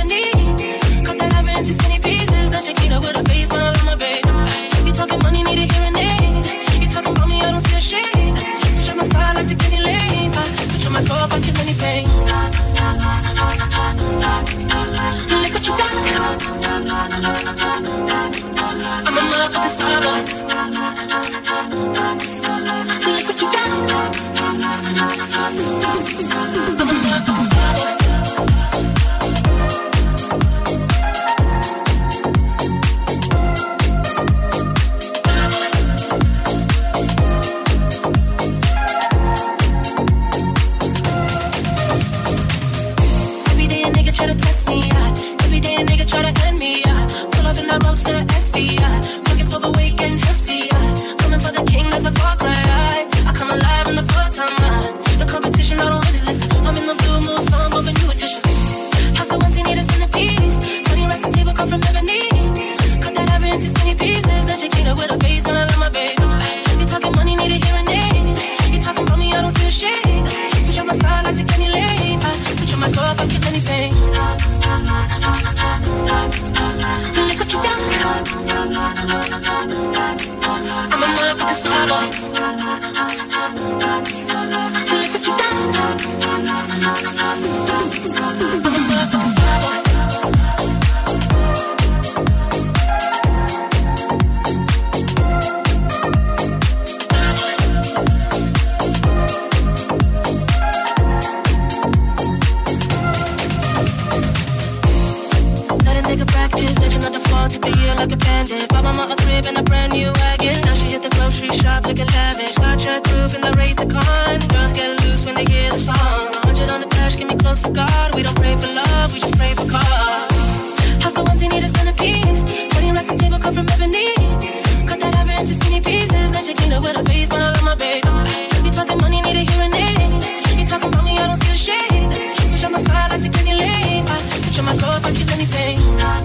took the year like a bandit. Bought mama a crib and a brand new wagon. Now she hit the grocery shop looking lavish. Start your groove in the Wraith the Con. Girls get loose when they hear the song. 100 on the dash, get me close to God. We don't pray for love, we just pray for cause. House so empty, need a centerpiece. 20 racks a table cut from ebony. Cut that ivory into skinny pieces. Then she clean up with her face, but I love my baby. You talking money, need a hearing aid. You talking about me, I don't see a shade. Switch on my side, I take any lane. Switch on my clothes, I keep anything.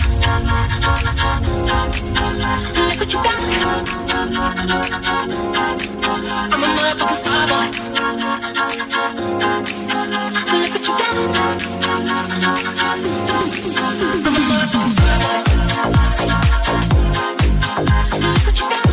Look what you got. I'm a motherfucking star boy. Look what you got. I'm a motherfucking star boy. Look what you got.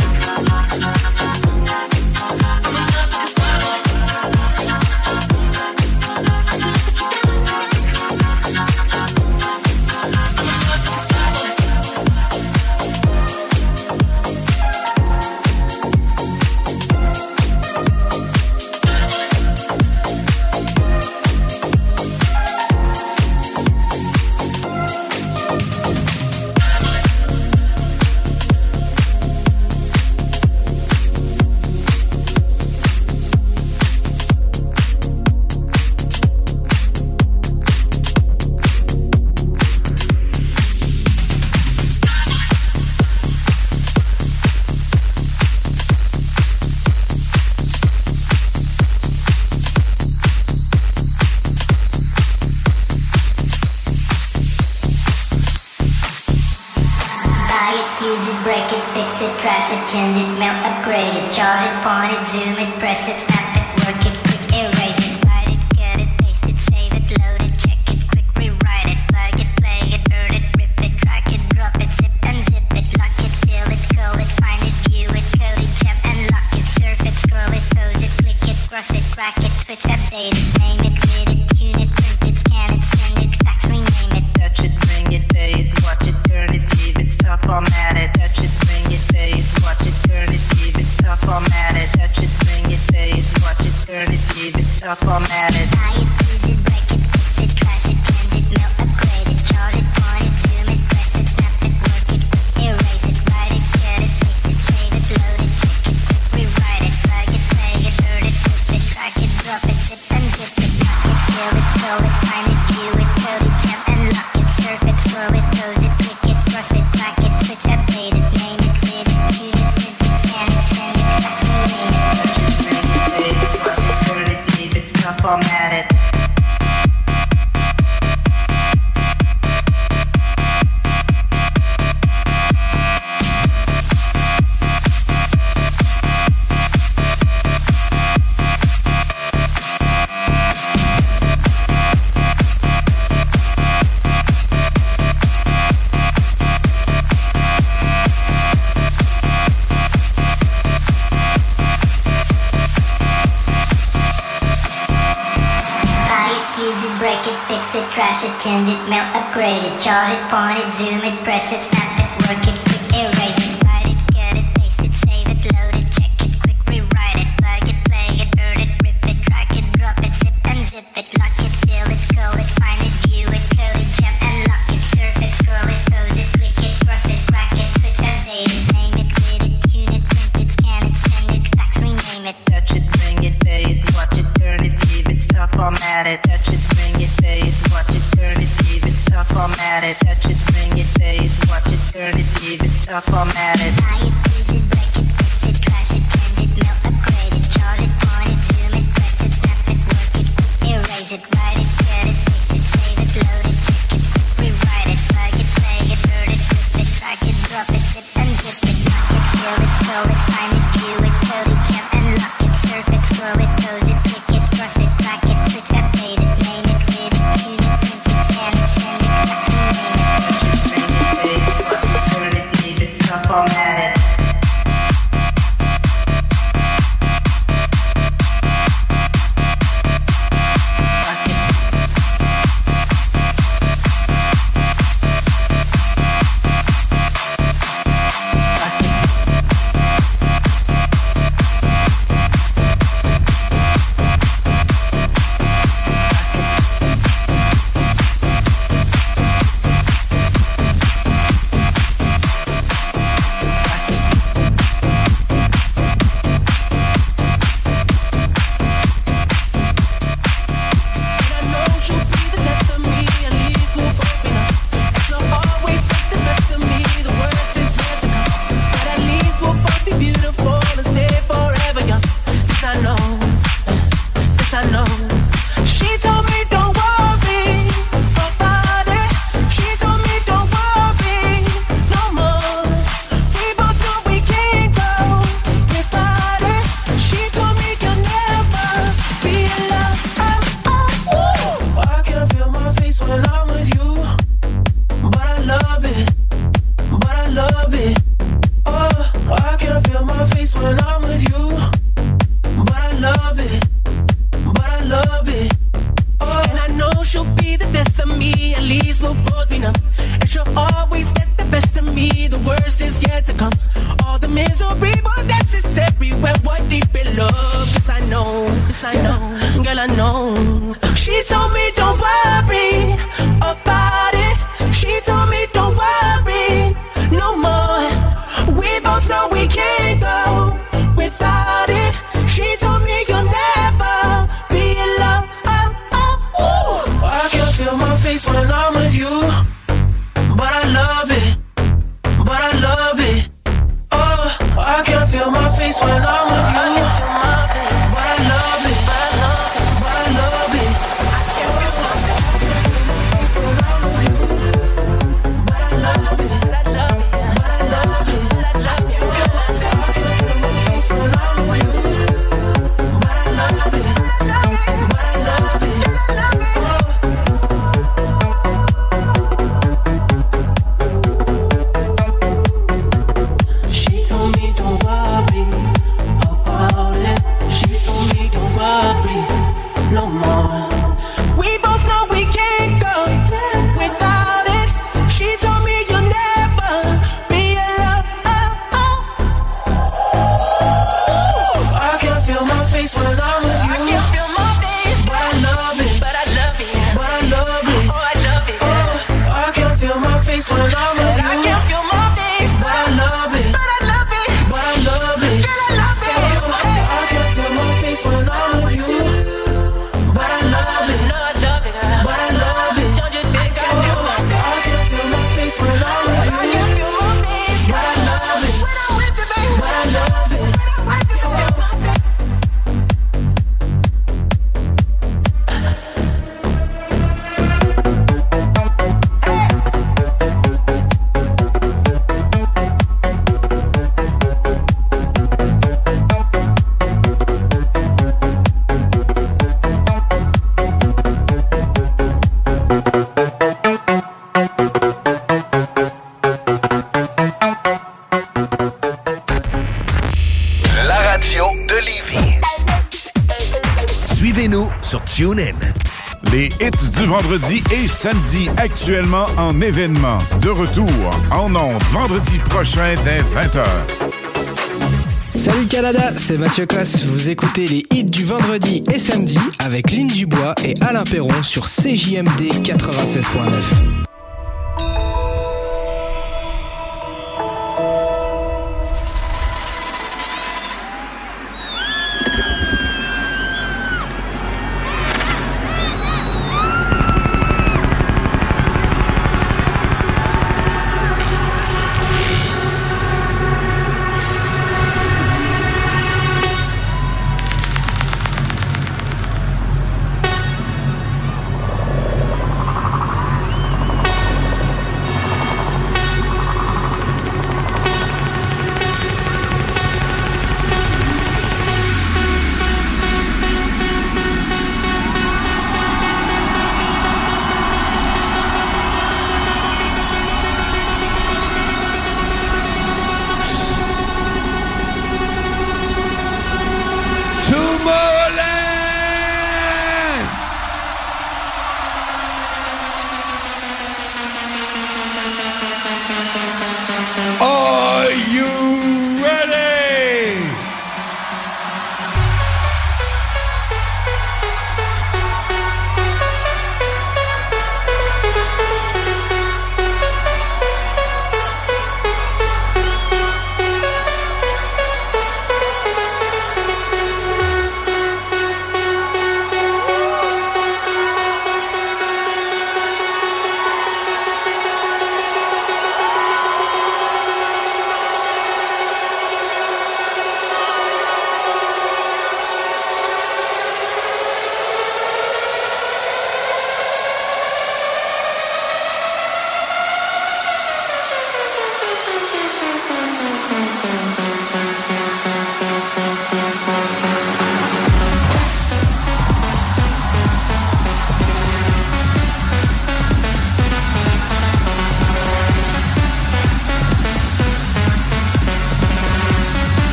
Change it, melt, upgrade it, charge it, point it, zoom it, press it, snap it, work it, quick erase it, write it, cut it, paste it, save it, load it, check it, quick rewrite it, plug it, play it, burn it, rip it, drag it, drop it, zip and zip it, lock it, fill it, call it, find it, view it, code it, jump and lock it, surf it, scroll it, pose it, click it, cross it, crack it, switch, update it, name it, read it, tune it, print it, scan it, send it, fax, rename it, touch it, bring it, pay it, watch it, turn it, leave it, stop, format it, touch it, bring it, pay it, watch it, turn it, leave it, stop, format it, touch it, bring it, pay it, watch it, turn it, leave it, stop, format it. Buy it, use it, break it, fix it, trash it, change it, melt, upgrade it, charge it, point it, zoom it, press it, snap it, work it, quick erase it, write it, cut it, paste it, save it, load it, check it, quick rewrite it, plug it, play it, burn it, flip it, drag it, drop it, zip and zip it, lock it, fill it, call it, find it, view it, code it, jump and lock it, surf it, scroll it, pose it, click it, cross it, crack it, switch, update it, name it, read it, tune it, print it, scan it, send it, fax, rename it, touch it, bring it, pay it, watch it, turn it, leave it, stop, format it. Trash it, change it, melt, upgrade it, charge it, point it, zoom it, press it, snap it, work it, quick erase it, write it, cut it, paste it, save it, load it, check it, quick rewrite it, plug it, play it, burn it, rip it, drag it, drop it, zip and zip it, lock it, fill it, call it, find it, view it, code it, jump and lock it, surf it, scroll it, pose it, click it, cross it, crack it, switch, update it, name it, read it, tune it, print it, scan it, send it, fax, rename it, touch it, bring it, pay it, watch it, turn it, leave it, stop, format it, touch it, bring it, pay it, watch it, turn it, leave it, stop, format it, touch it, bring it, pay it, watch it, turn it, leave it, stop, format it. Buy it, use it, break it, fix it, trash it, change it, melt, upgrade it, charge it, point it, zoom it, press it, snap it, work it, quick erase it, write it, cut it, paste it, save it, load it, check it, quick rewrite it, plug it, play it, burn it, flip it, drag it, drop it, zip and zip it, lock it, fill it, call it, find it, view it, code it, jump and lock it, surf it, scroll it, pose it, click it, cross it, crack it, switch, update it, name it, read it, tune it, print it, scan it, send it, fax, rename it, touch it, bring it, pay it, watch it, turn it, leave it, stop, format it. love it, but I love it. Oh, I can feel my face when I'm with you. But I love it, but I love it. Oh, and I know she'll be the death of me. At least we'll both be numb. And she'll always get the best of me. The worst is yet to come. All the misery was necessary when we're deep in love. Yes, I know, girl, I know. She told me don't worry about it. She told me don't worry no more. We both know we can't go without it. She told me you'll never be alone. I can feel my face when I'm with you. But I love it, but I love it. Oh, I can feel my face when I'm with you. But I love it, but I love it. I can feel my face when I'm with you. But I love it, but I love it, but I love it. I can feel my face when I'm with you. But I love it, but I love it. She told me don't worry about it. She told me don't worry no more. We both know we can't go without it. She told me you'll never be alone. I can feel my face when I'm with you. I can feel my face, but I love it, but I love it, but I love it. Oh, I love it. Oh, I can feel my face when I'm with you. I can feel my face, but I love it, but I love it, but I love it. Girl, I love it. I can feel my face when I'm with you. But I love it, no, I love it, but I love it. Don't you think I do? I can feel my face when I'm with you. I can feel my face, but I love it. When I'm with you, baby, but I love it. La radio de Lévis. Suivez-nous sur TuneIn. Les hits du vendredi et samedi actuellement en événement. De retour en ondes vendredi prochain dès 20h. Salut Canada, c'est Mathieu Cosse. Vous écoutez les hits du vendredi et samedi avec Lynn Dubois et Alain Perron sur CJMD 96.9.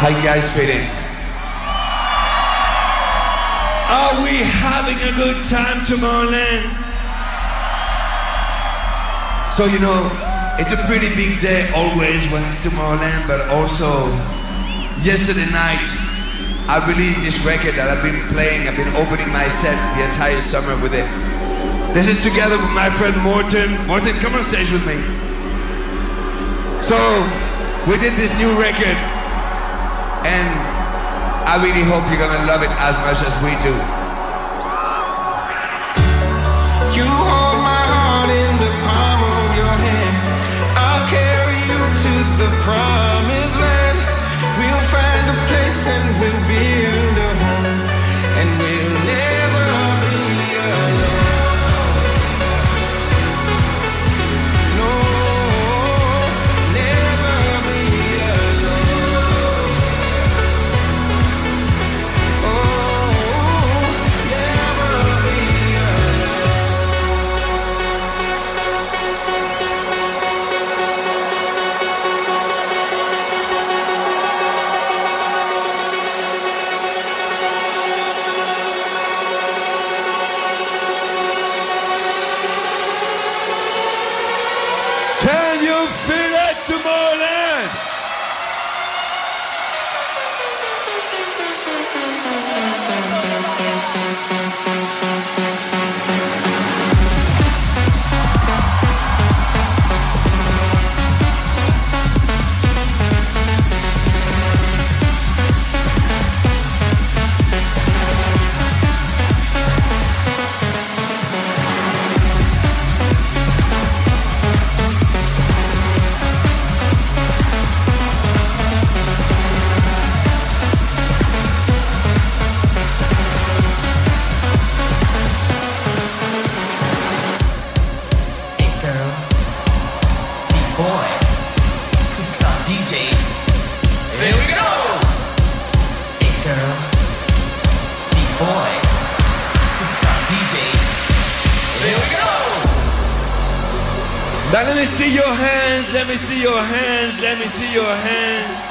How you guys feeling? Are we having a good time, Tomorrowland? So you know, it's a pretty big day always when it's Tomorrowland, but also yesterday night I released this record that I've been playing. I've been opening my set the entire summer with it. This is together with my friend Morten. Morten, come on stage with me. So we did this new record, and I really hope you're gonna love it as much as we do. You hold my heart in the palm of your hand. I'll carry you to the promised land. We'll find a place and we'll build a home, and we'll never be alone. No, never be alone. Oh, never be Can you feel it, Tomorrowland? Now let me see your hands, let me see your hands, let me see your hands.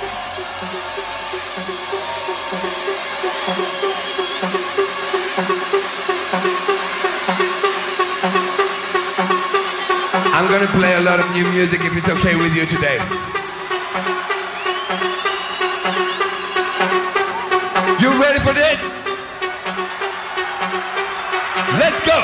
I'm gonna play a lot of new music if it's okay with you today. You ready for this? Let's go!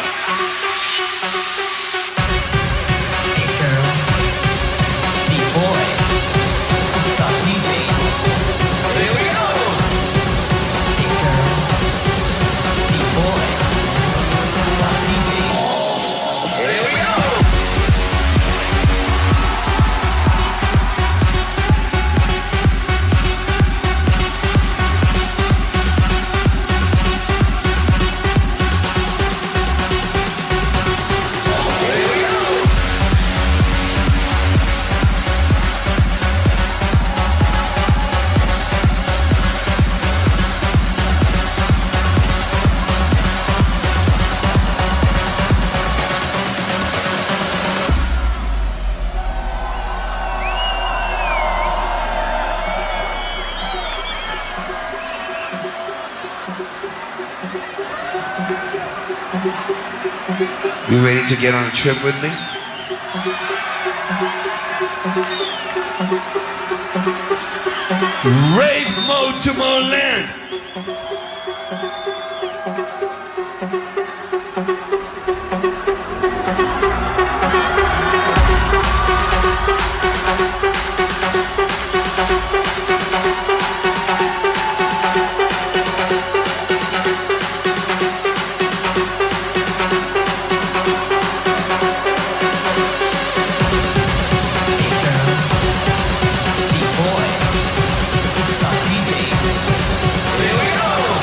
You ready to get on a trip with me? Rave mode Tomorrowland! Here we go!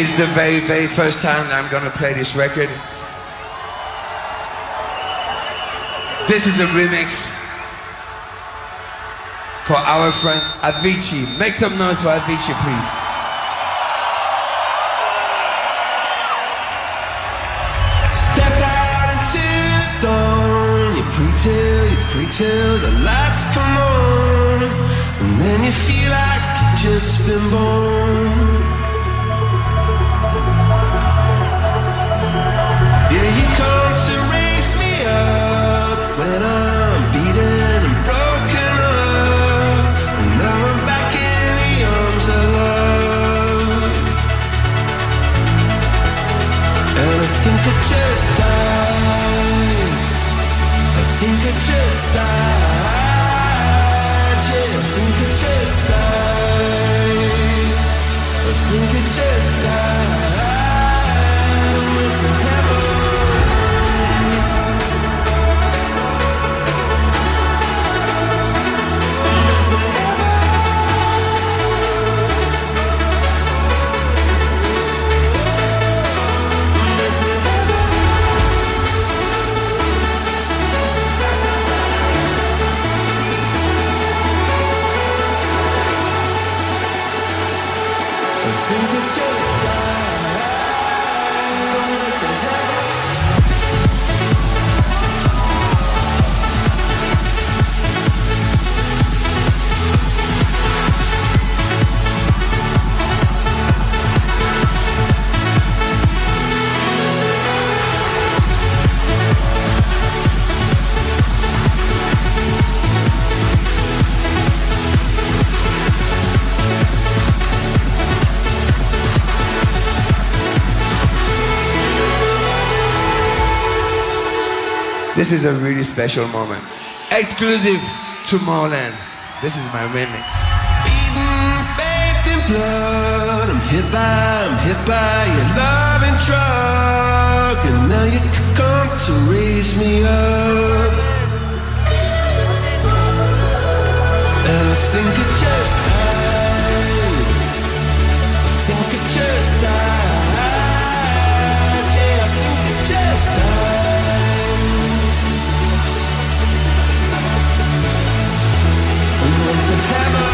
It's the very, very first time that I'm gonna play this record. This is a remix for our friend Avicii. Make some noise for Avicii, please. Step out into the dawn. You pray till the lights come on, and then you feel like you've just been born. Yeah, you come to raise me up when I'm beaten and broken up, and now I'm back in the arms of love. And I think I just died. I think I just died. Yeah, I think I just died. I think I just died. Went to heaven. This is a really special moment. Exclusive to Tomorrowland. This is my remix. Bathed in blood, I'm hit by your love and drug, and now you come to raise me up. And I think I just died. I think I just died. Yeah, I think I just died. I'm going to heaven.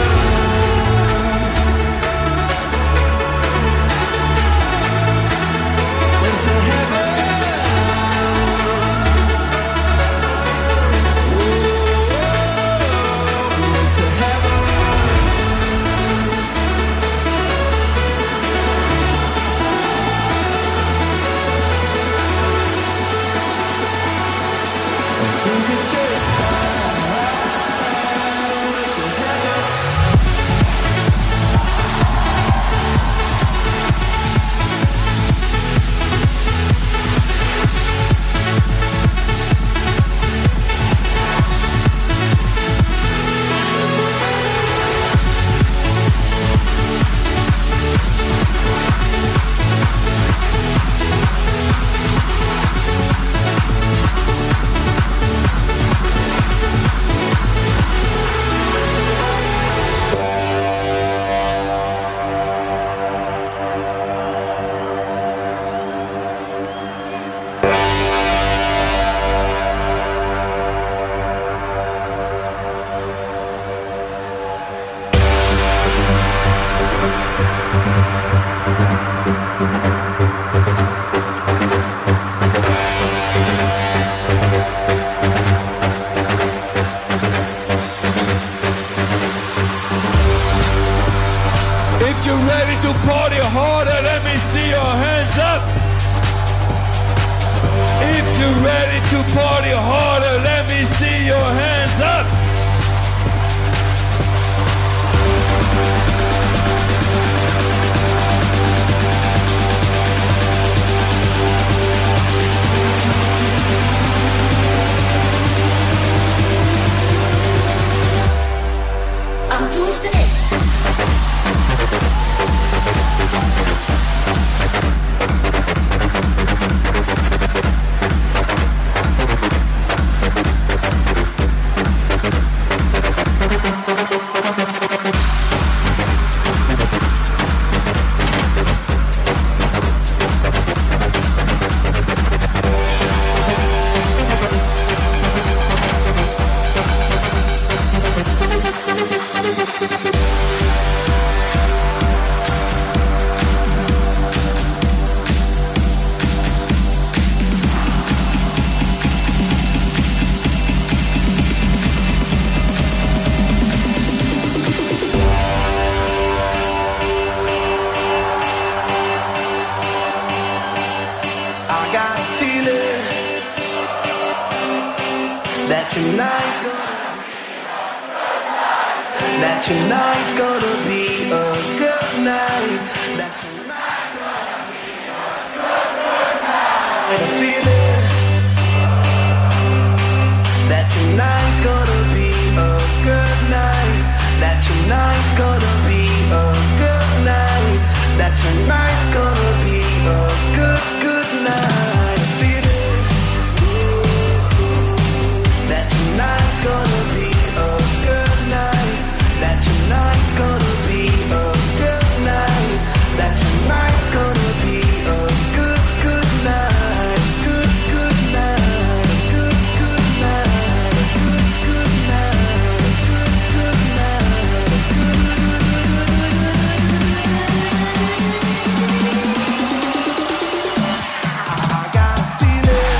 If you're ready to party harder, let me see your hands up. If you're ready to party harder, let me see your hands up. Who's it? got a feeling that tonight's gonna be a good night. That tonight's gonna be a good night. A feeling that tonight's gonna be a good night. That tonight's gonna be a good night. That tonight's gonna be a good night. A feeling that tonight's gonna be a good night. That tonight's gonna be a good night. That tonight's gonna be a good night. Good night. Good night. Good night. Good night. I got a feeling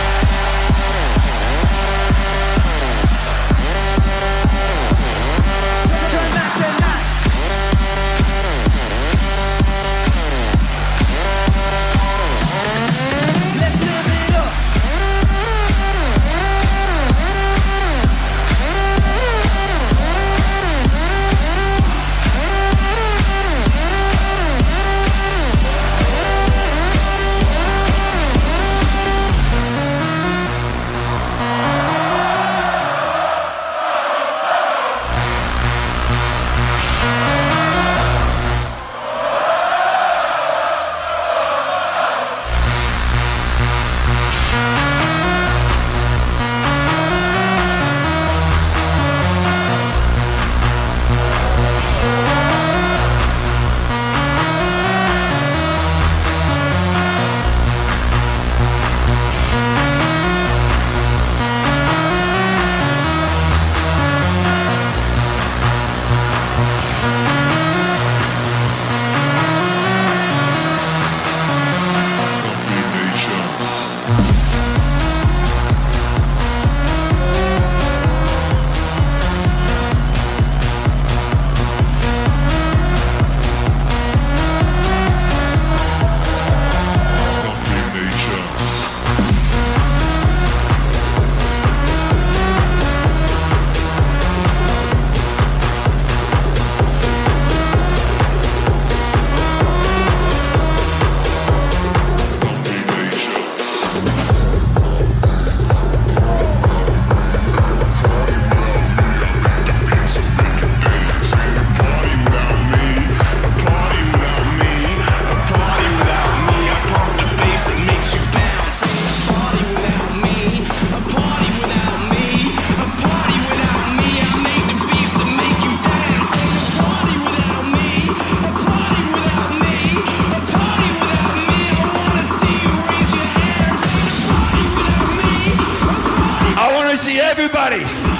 everybody.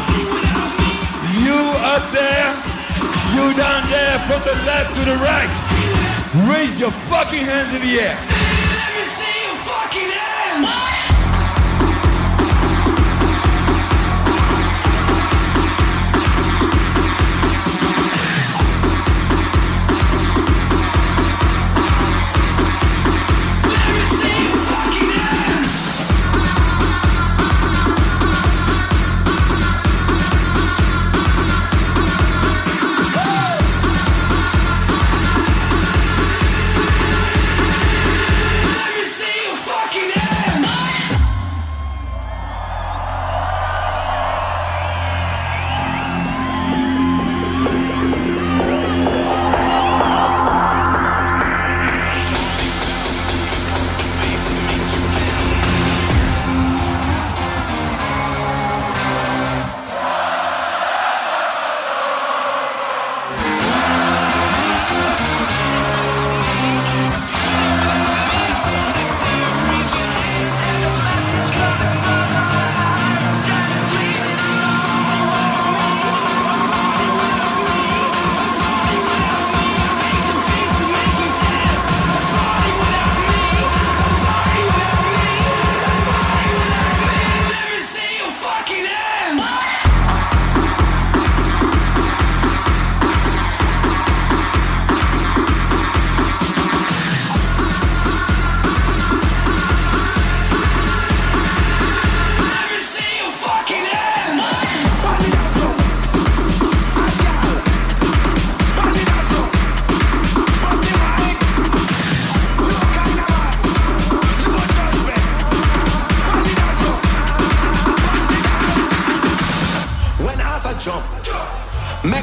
You up there, you down there, from the left to the right. Raise your fucking hands in the air. Let me see your fucking hands.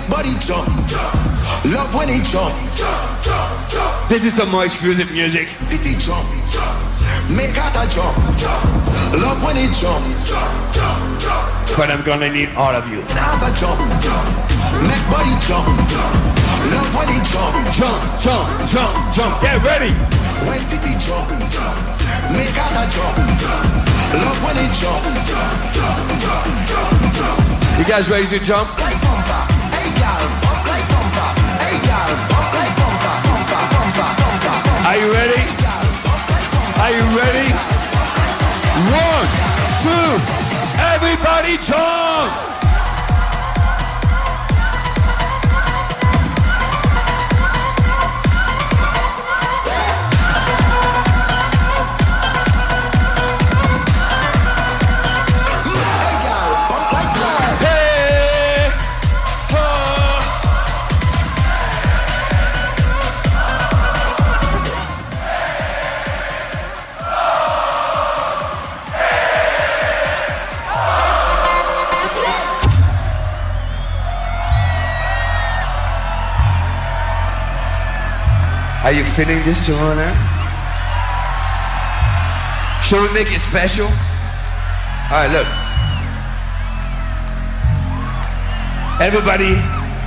make body jump. Love when he jump. This is some more exclusive music. Titty jump. Make out a jump. Love when he jump. But I'm gonna need all of you. As a jump. Make body jump. Love when he jump. Jump, jump, jump, jump. Get ready. When titty jump. Make out a jump. Love when he jump. You guys ready to jump? Like bumper. Hey girl, bump like bumper. Hey girl, bump like bumper. Bumper, bumper, bumper, bumper. Are you ready? Are you ready? 1, 2, everybody jump! Are you feeling this tomorrow night? Shall we make it special? Alright, look. Everybody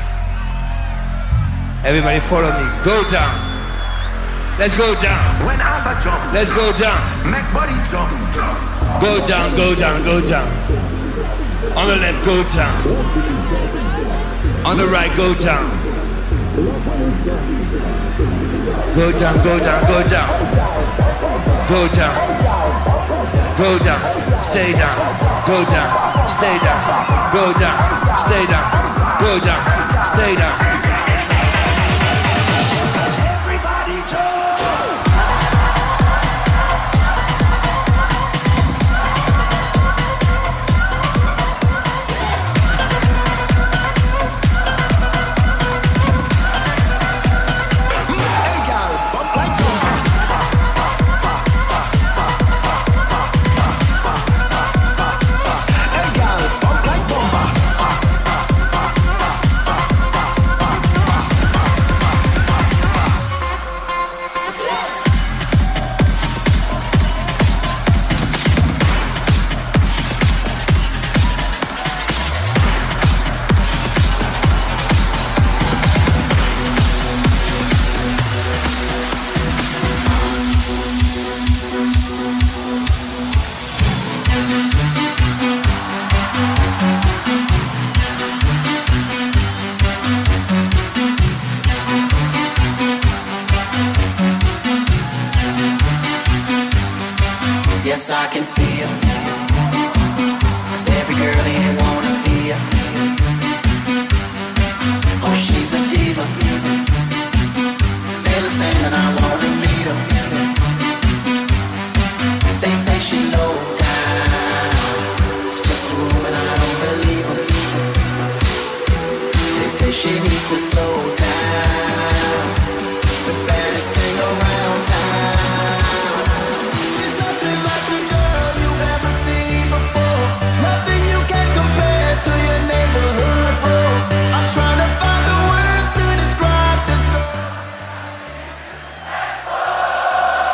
follow me. Go down. Let's go down. When as a jump. Let's go down. Make body jump. Go down, go down, go down. On the left, go down. On the right, go down. Go down, go down, go down. Go down. Go down. Stay down. Go down. Stay down. Go down. Stay down. Go down. Stay down. Everybody jump. Yes, I can see it. 'Cause every girl in here wanna be her. Oh, she's a diva. Feel the same and I wanna meet her. They say she low down. It's just a room and I don't believe them. They say she needs to slow down. The baddest thing around town. She's nothing like the girl you've ever seen before. Nothing you can compare to your neighborhood boy. I'm trying to find the words to describe this girl.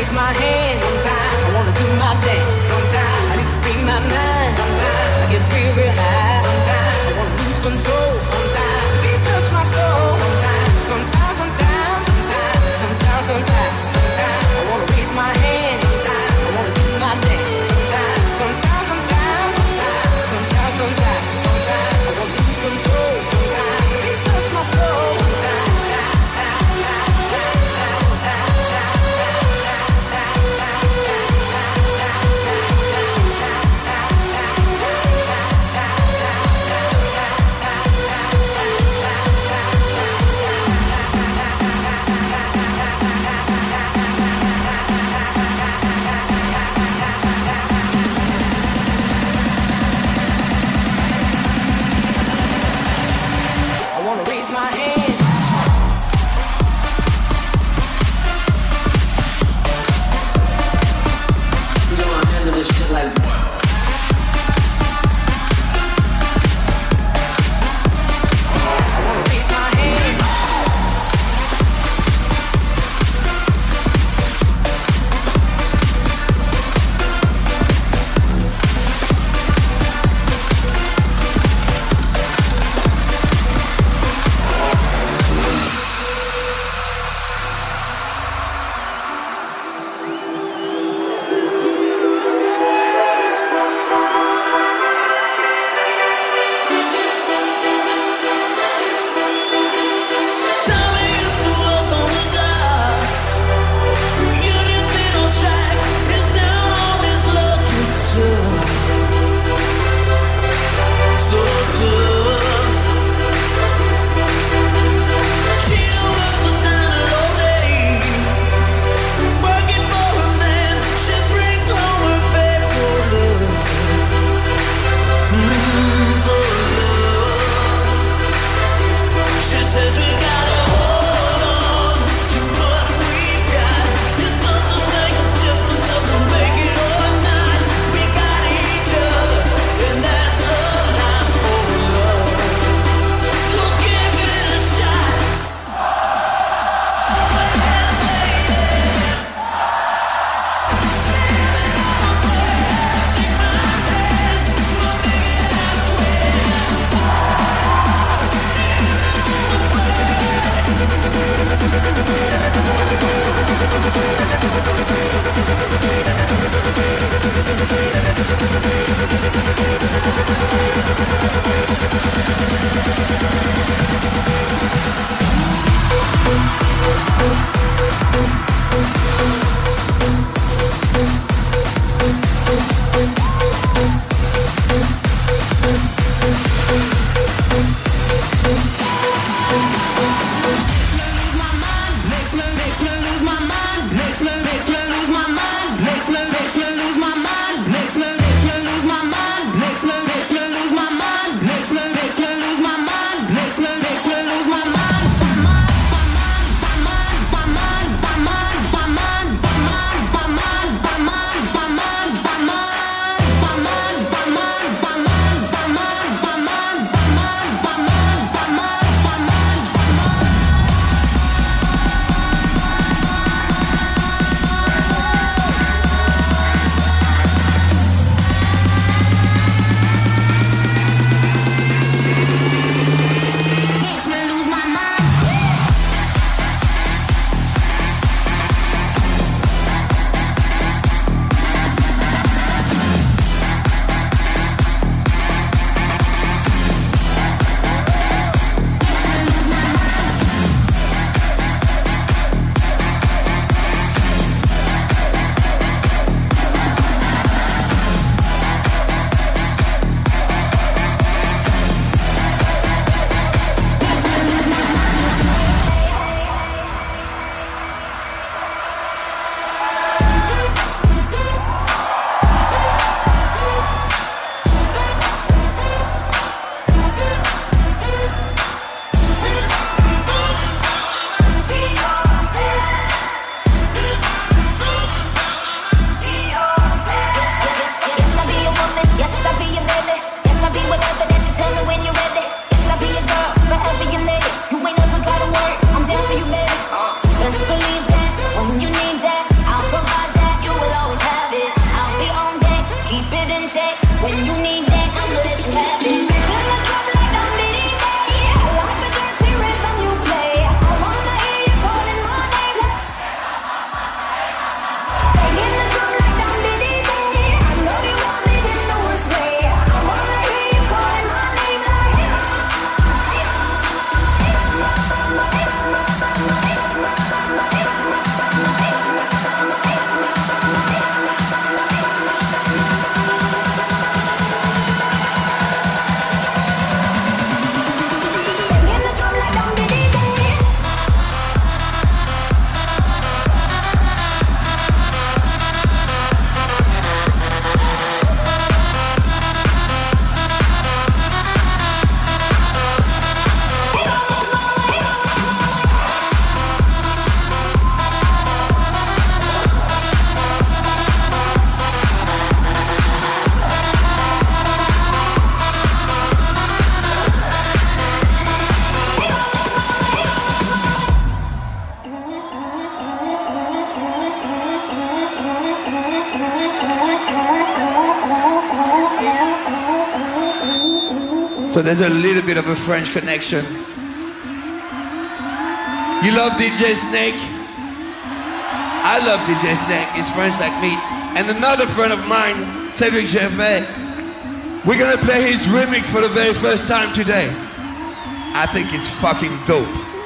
raise my hand. Sometimes I wanna do my dance. Sometimes I need to free my mind. Sometimes I get real, real high. Sometimes I wanna lose control. Sometimes they touch my soul. Sometimes I wanna raise my hand. Sometimes I wanna do my dance. Sometimes I wanna lose control. Sometimes they touch my soul. So there's a little bit of a French connection. You love DJ Snake? I love DJ Snake. He's French like me. And another friend of mine, Cedric Gervais. We're gonna play his remix for the very first time today. I think it's fucking dope.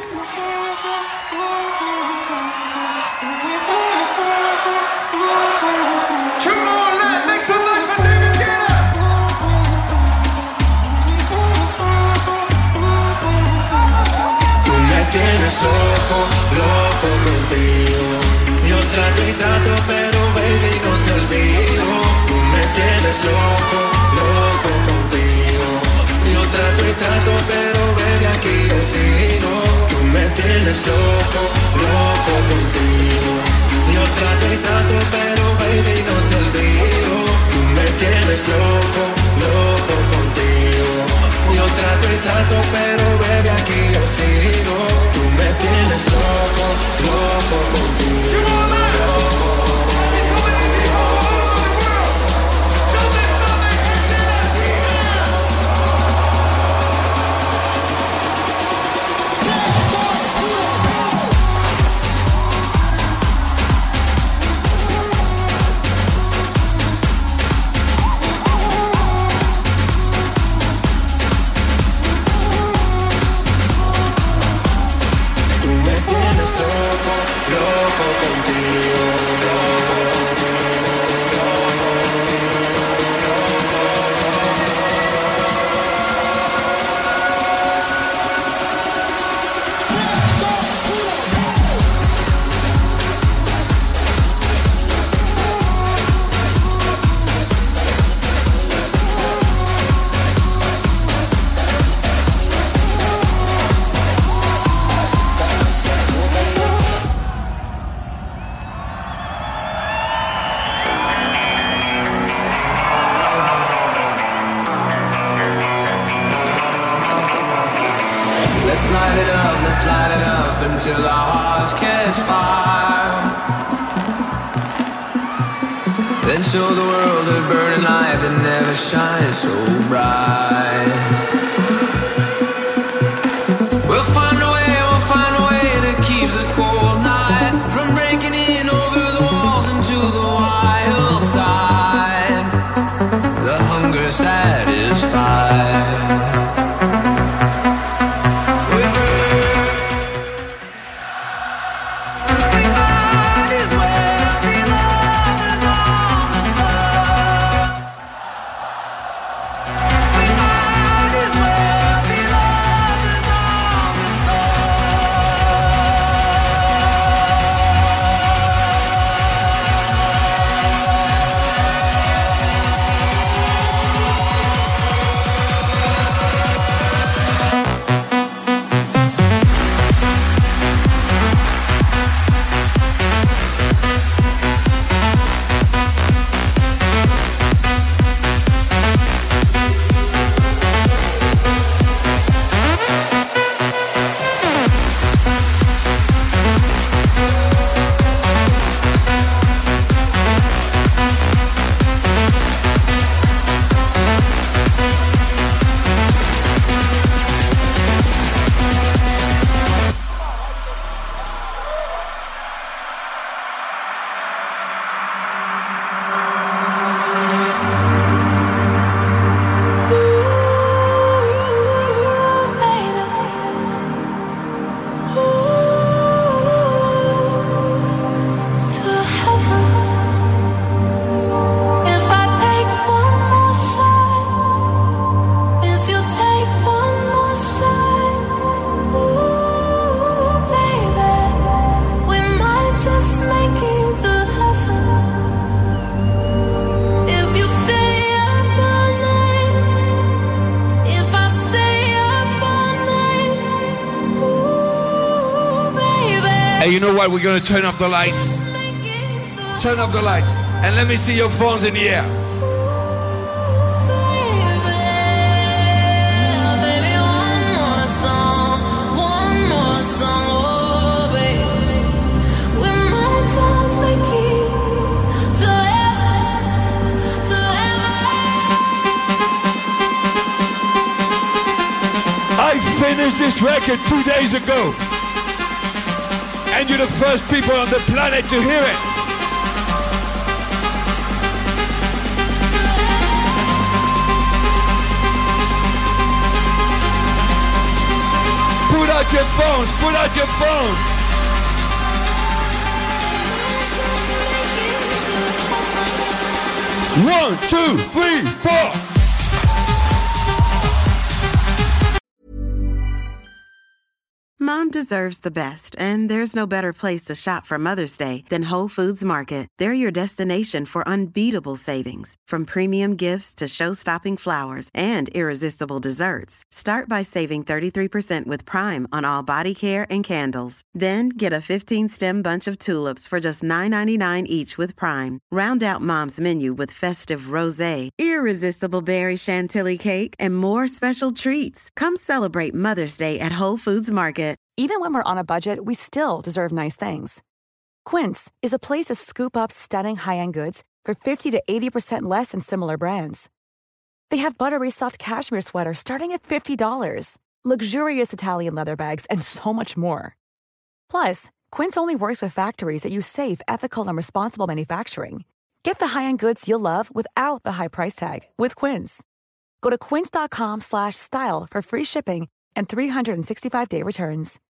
Tienes loco, loco contigo. Yo trato y trato, pero baby no te olvido. Tú me tienes loco, loco contigo. Yo trato y trato, pero baby aquí yo sigo. Tú me tienes loco, loco contigo. Yo trato y trato, pero baby no te olvido. Tú me tienes loco, loco contigo. Yo trato y trato, pero baby aquí yo sigo. Tú me tienes loco, loco contigo. Loco Until our hearts catch fire. Then show the world a burning light that never shines so bright. We'll find a way to keep the cold night from breaking in over the walls into the wild side. The hunger satisfied. You know what? We're gonna turn off the lights. Turn off the lights. And let me see your phones in the air. finished this record 2 days ago. And you're the first people on the planet to hear it. Put out your phones, put out your phones. One, two, three, four. Mom deserves the best, and there's no better place to shop for Mother's Day than Whole Foods Market. They're your destination for unbeatable savings, from premium gifts to show-stopping flowers and irresistible desserts. Start by saving 33% with Prime on all body care and candles. Then get a 15-stem bunch of tulips for just $9.99 each with Prime. Round out Mom's menu with festive rosé, irresistible berry chantilly cake, and more special treats. Come celebrate Mother's Day at Whole Foods Market. Even when we're on a budget, we still deserve nice things. Quince is a place to scoop up stunning high-end goods for 50 to 80% less than similar brands. They have buttery soft cashmere sweaters starting at $50, luxurious Italian leather bags, and so much more. Plus, Quince only works with factories that use safe, ethical, and responsible manufacturing. Get the high-end goods you'll love without the high price tag with Quince. Go to quince.com/style for free shipping and 365-day returns.